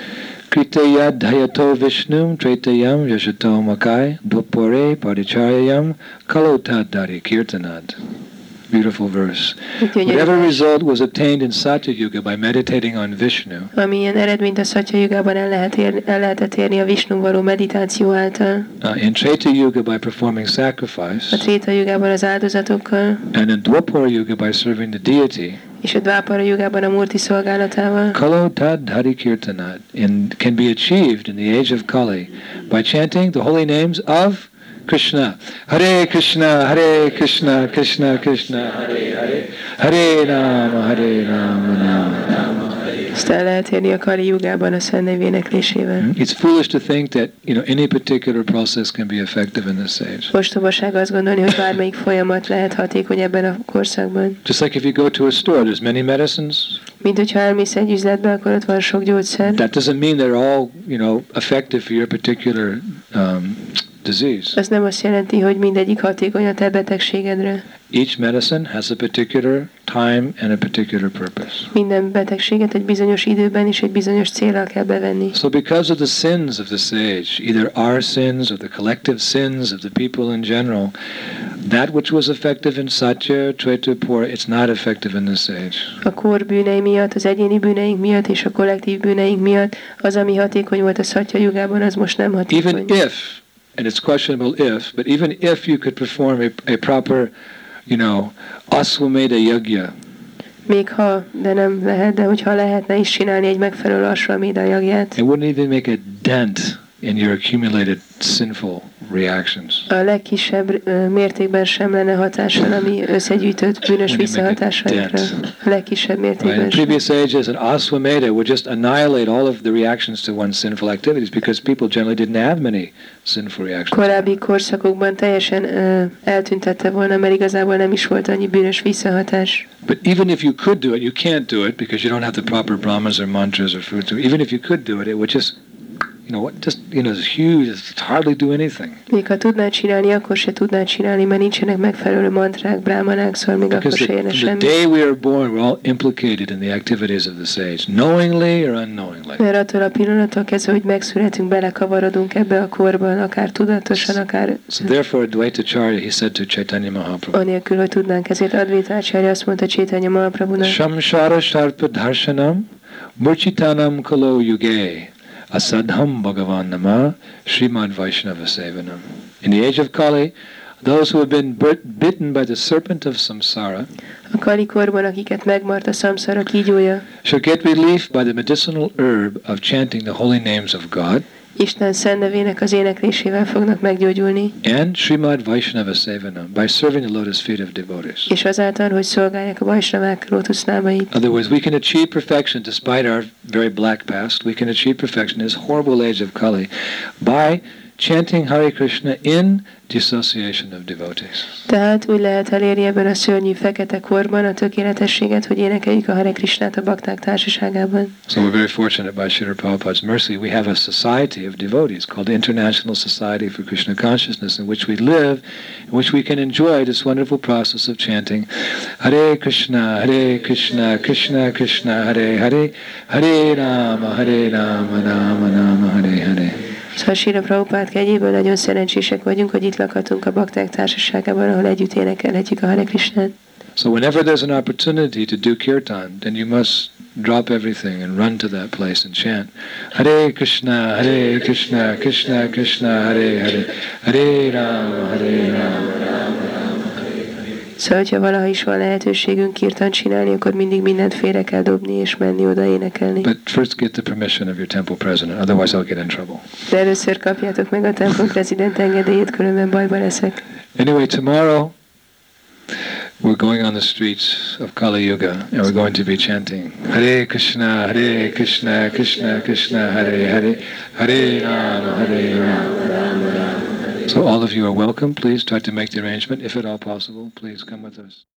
S2: Kritaya dhayato vishnum tretayam yashato makai dupore parichayam kalotadari kirtanad. Beautiful verse. Whatever result was obtained in Satya Yuga by meditating on Vishnu,
S1: Amilyen eredményt a Szatya Jugában el, lehet ér, el lehetett érni a Visnu való meditáció által,
S2: uh, in Treta Yuga by performing
S1: a
S2: sacrifice,
S1: Tréta Jugában az áldozatokkal,
S2: and in Dwapara Yuga by serving the deity,
S1: és a Dvápara Jugában a Murti szolgálatával.
S2: Kalotad Hari Kirtanat in, can be achieved in the age of Kali by chanting the holy names of Krishna. Hare Krishna, Hare Krishna, Krishna Krishna, Hare Hare, Hare Rama, Hare Rama, Rama Rama, Hare.
S1: Ezt el lehet érni a Kali Jugában a Szent Nev éneklésével.
S2: It's foolish to think that, you know, any particular process can be effective in this age.
S1: Ostobaság azt gondolni, hogy bármelyik folyamat lehet hatékony ebben a korszakban.
S2: Just like if you go to a store, there's many medicines.
S1: Mint hogyha elmész egy üzletbe, akkor ott van sok gyógyszer.
S2: That doesn't mean they're all, you know, effective for your particular um, disease.
S1: Ez nem azt jelenti, hogy mindegyik hatékony a te betegségedre.
S2: Each medicine has a particular time and a particular purpose.
S1: Minden betegséget egy bizonyos időben és egy bizonyos célral kell bevenni.
S2: So because of the sins of this age, either our sins or the collective sins of the people in general, that which was effective in Satya, Treta, Pura, it's not effective in this age.
S1: A kor bűnei miatt, az egyéni bűneink miatt és a kollektív bűneink miatt az, ami hatékony volt a Szatya Jugában, az most nem hatékony.
S2: Even if, and it's questionable if, but even if you could perform a, a proper, you know, Aswamedha Yajna,
S1: Még ha, de nem lehet, de hogyha lehetne is csinálni egy megfelelő asvameda jagját.
S2: It wouldn't even make a dent in your accumulated sinful reactions.
S1: A legkisebb ö, mértékben sem lenne hatással, ami összegyűjtött bűnös visszahatásaikra. A legkisebb
S2: Right?
S1: mértékben
S2: In
S1: sem.
S2: previous ages, an aswameda would just annihilate all of the reactions to one's sinful activities because people generally didn't have many sinful reactions.
S1: Korábbi korszakokban teljesen ö, eltüntette volna, mert igazából nem is volt annyi bűnös visszahatás.
S2: But even if you could do it, you can't do it because you don't have the proper brahmas or mantras or food. So even if you could do it, it would just, you know, what, just, you know, it's huge, it's hardly do anything.
S1: Még ha tudnád csinálni, akkor se tudnád csinálni, mert nincsenek megfelelő mantrák, brámanák, szóval még akkor
S2: Because
S1: se
S2: the,
S1: érne
S2: the
S1: semmi.
S2: day we are born, we're all implicated in the activities of the sage, knowingly or unknowingly.
S1: Mert attól a pillanattól kezdve, hogy megszületünk, belekavarodunk ebbe a korban, akár tudatosan, akár
S2: So therefore, Dvaitacharya, he said to Chaitanya Mahaprabhu,
S1: anélkül, hogy tudnánk. Ezért Advaitácsária azt mondta Chaitanya Mahaprabhunak,
S2: Shamshara Sharpa Darshanam Murchitanam Kalo Yuge Asadham Bhagavan Nama Srimad Vaishnava Sevanam. In the age of Kali, those who have been bit- bitten by the serpent of samsara
S1: a Kali korban, akiket megmart a szamszara kígyója,
S2: shall get relief by the medicinal herb of chanting the holy names of God
S1: Isten szent nevének az éneklésével fognak meggyógyulni,
S2: and Srimad Vaishnava Sevanam by serving the lotus feet of devotees.
S1: és azáltal, hogy szolgálják a Vaisnavák lótuszlábait.
S2: In other words, we can achieve perfection despite our very black past. We can achieve perfection in this horrible age of Kali by chanting Hare Krishna in dissociation of devotees.
S1: Tehát úgy lehet elérni ebben a szörnyű fekete korban a tökéletességet, hogy énekeljük a Hare Krishnát a bakták társaságában.
S2: So we're very fortunate by Srila Prabhupada's mercy. We have a society of devotees called the International Society for Krishna Consciousness, in which we live, in which we can enjoy this wonderful process of chanting Hare Krishna, Hare Krishna, Krishna Krishna, Hare Hare, Hare Rama, Hare Rama, Rama Rama, Hare Hare.
S1: Szóval Srila Prabhupád kegyéből nagyon szerencsések vagyunk, hogy itt lakhatunk a bakták társaságában, ahol együtt énekelhetjük a Hare Krishnát.
S2: So whenever there's an opportunity to do kirtan, then you must drop everything and run to that place and chant Hare Krishna, Hare Krishna, Krishna Krishna, Hare Hare, Hare Rama, Hare Rama, Rama Rama, Hare Hare.
S1: Szóval, hogyha valaha is van lehetőségünk kirtan csinálni, akkor mindig mindent félre kell dobni és menni oda énekelni.
S2: But first get the permission of your temple president, otherwise I'll get in trouble.
S1: De először kapjátok meg a templom prezident engedélyét, különben bajba leszek.
S2: Anyway, tomorrow we're going on the streets of Kali Yuga and we're going to be chanting Hare Krishna, Hare Krishna, Krishna Krishna, Hare Hare, Hare Rama, Hare Rama, Rama Rama. So all of you are welcome. Please try to make the arrangement. If at all possible, please come with us.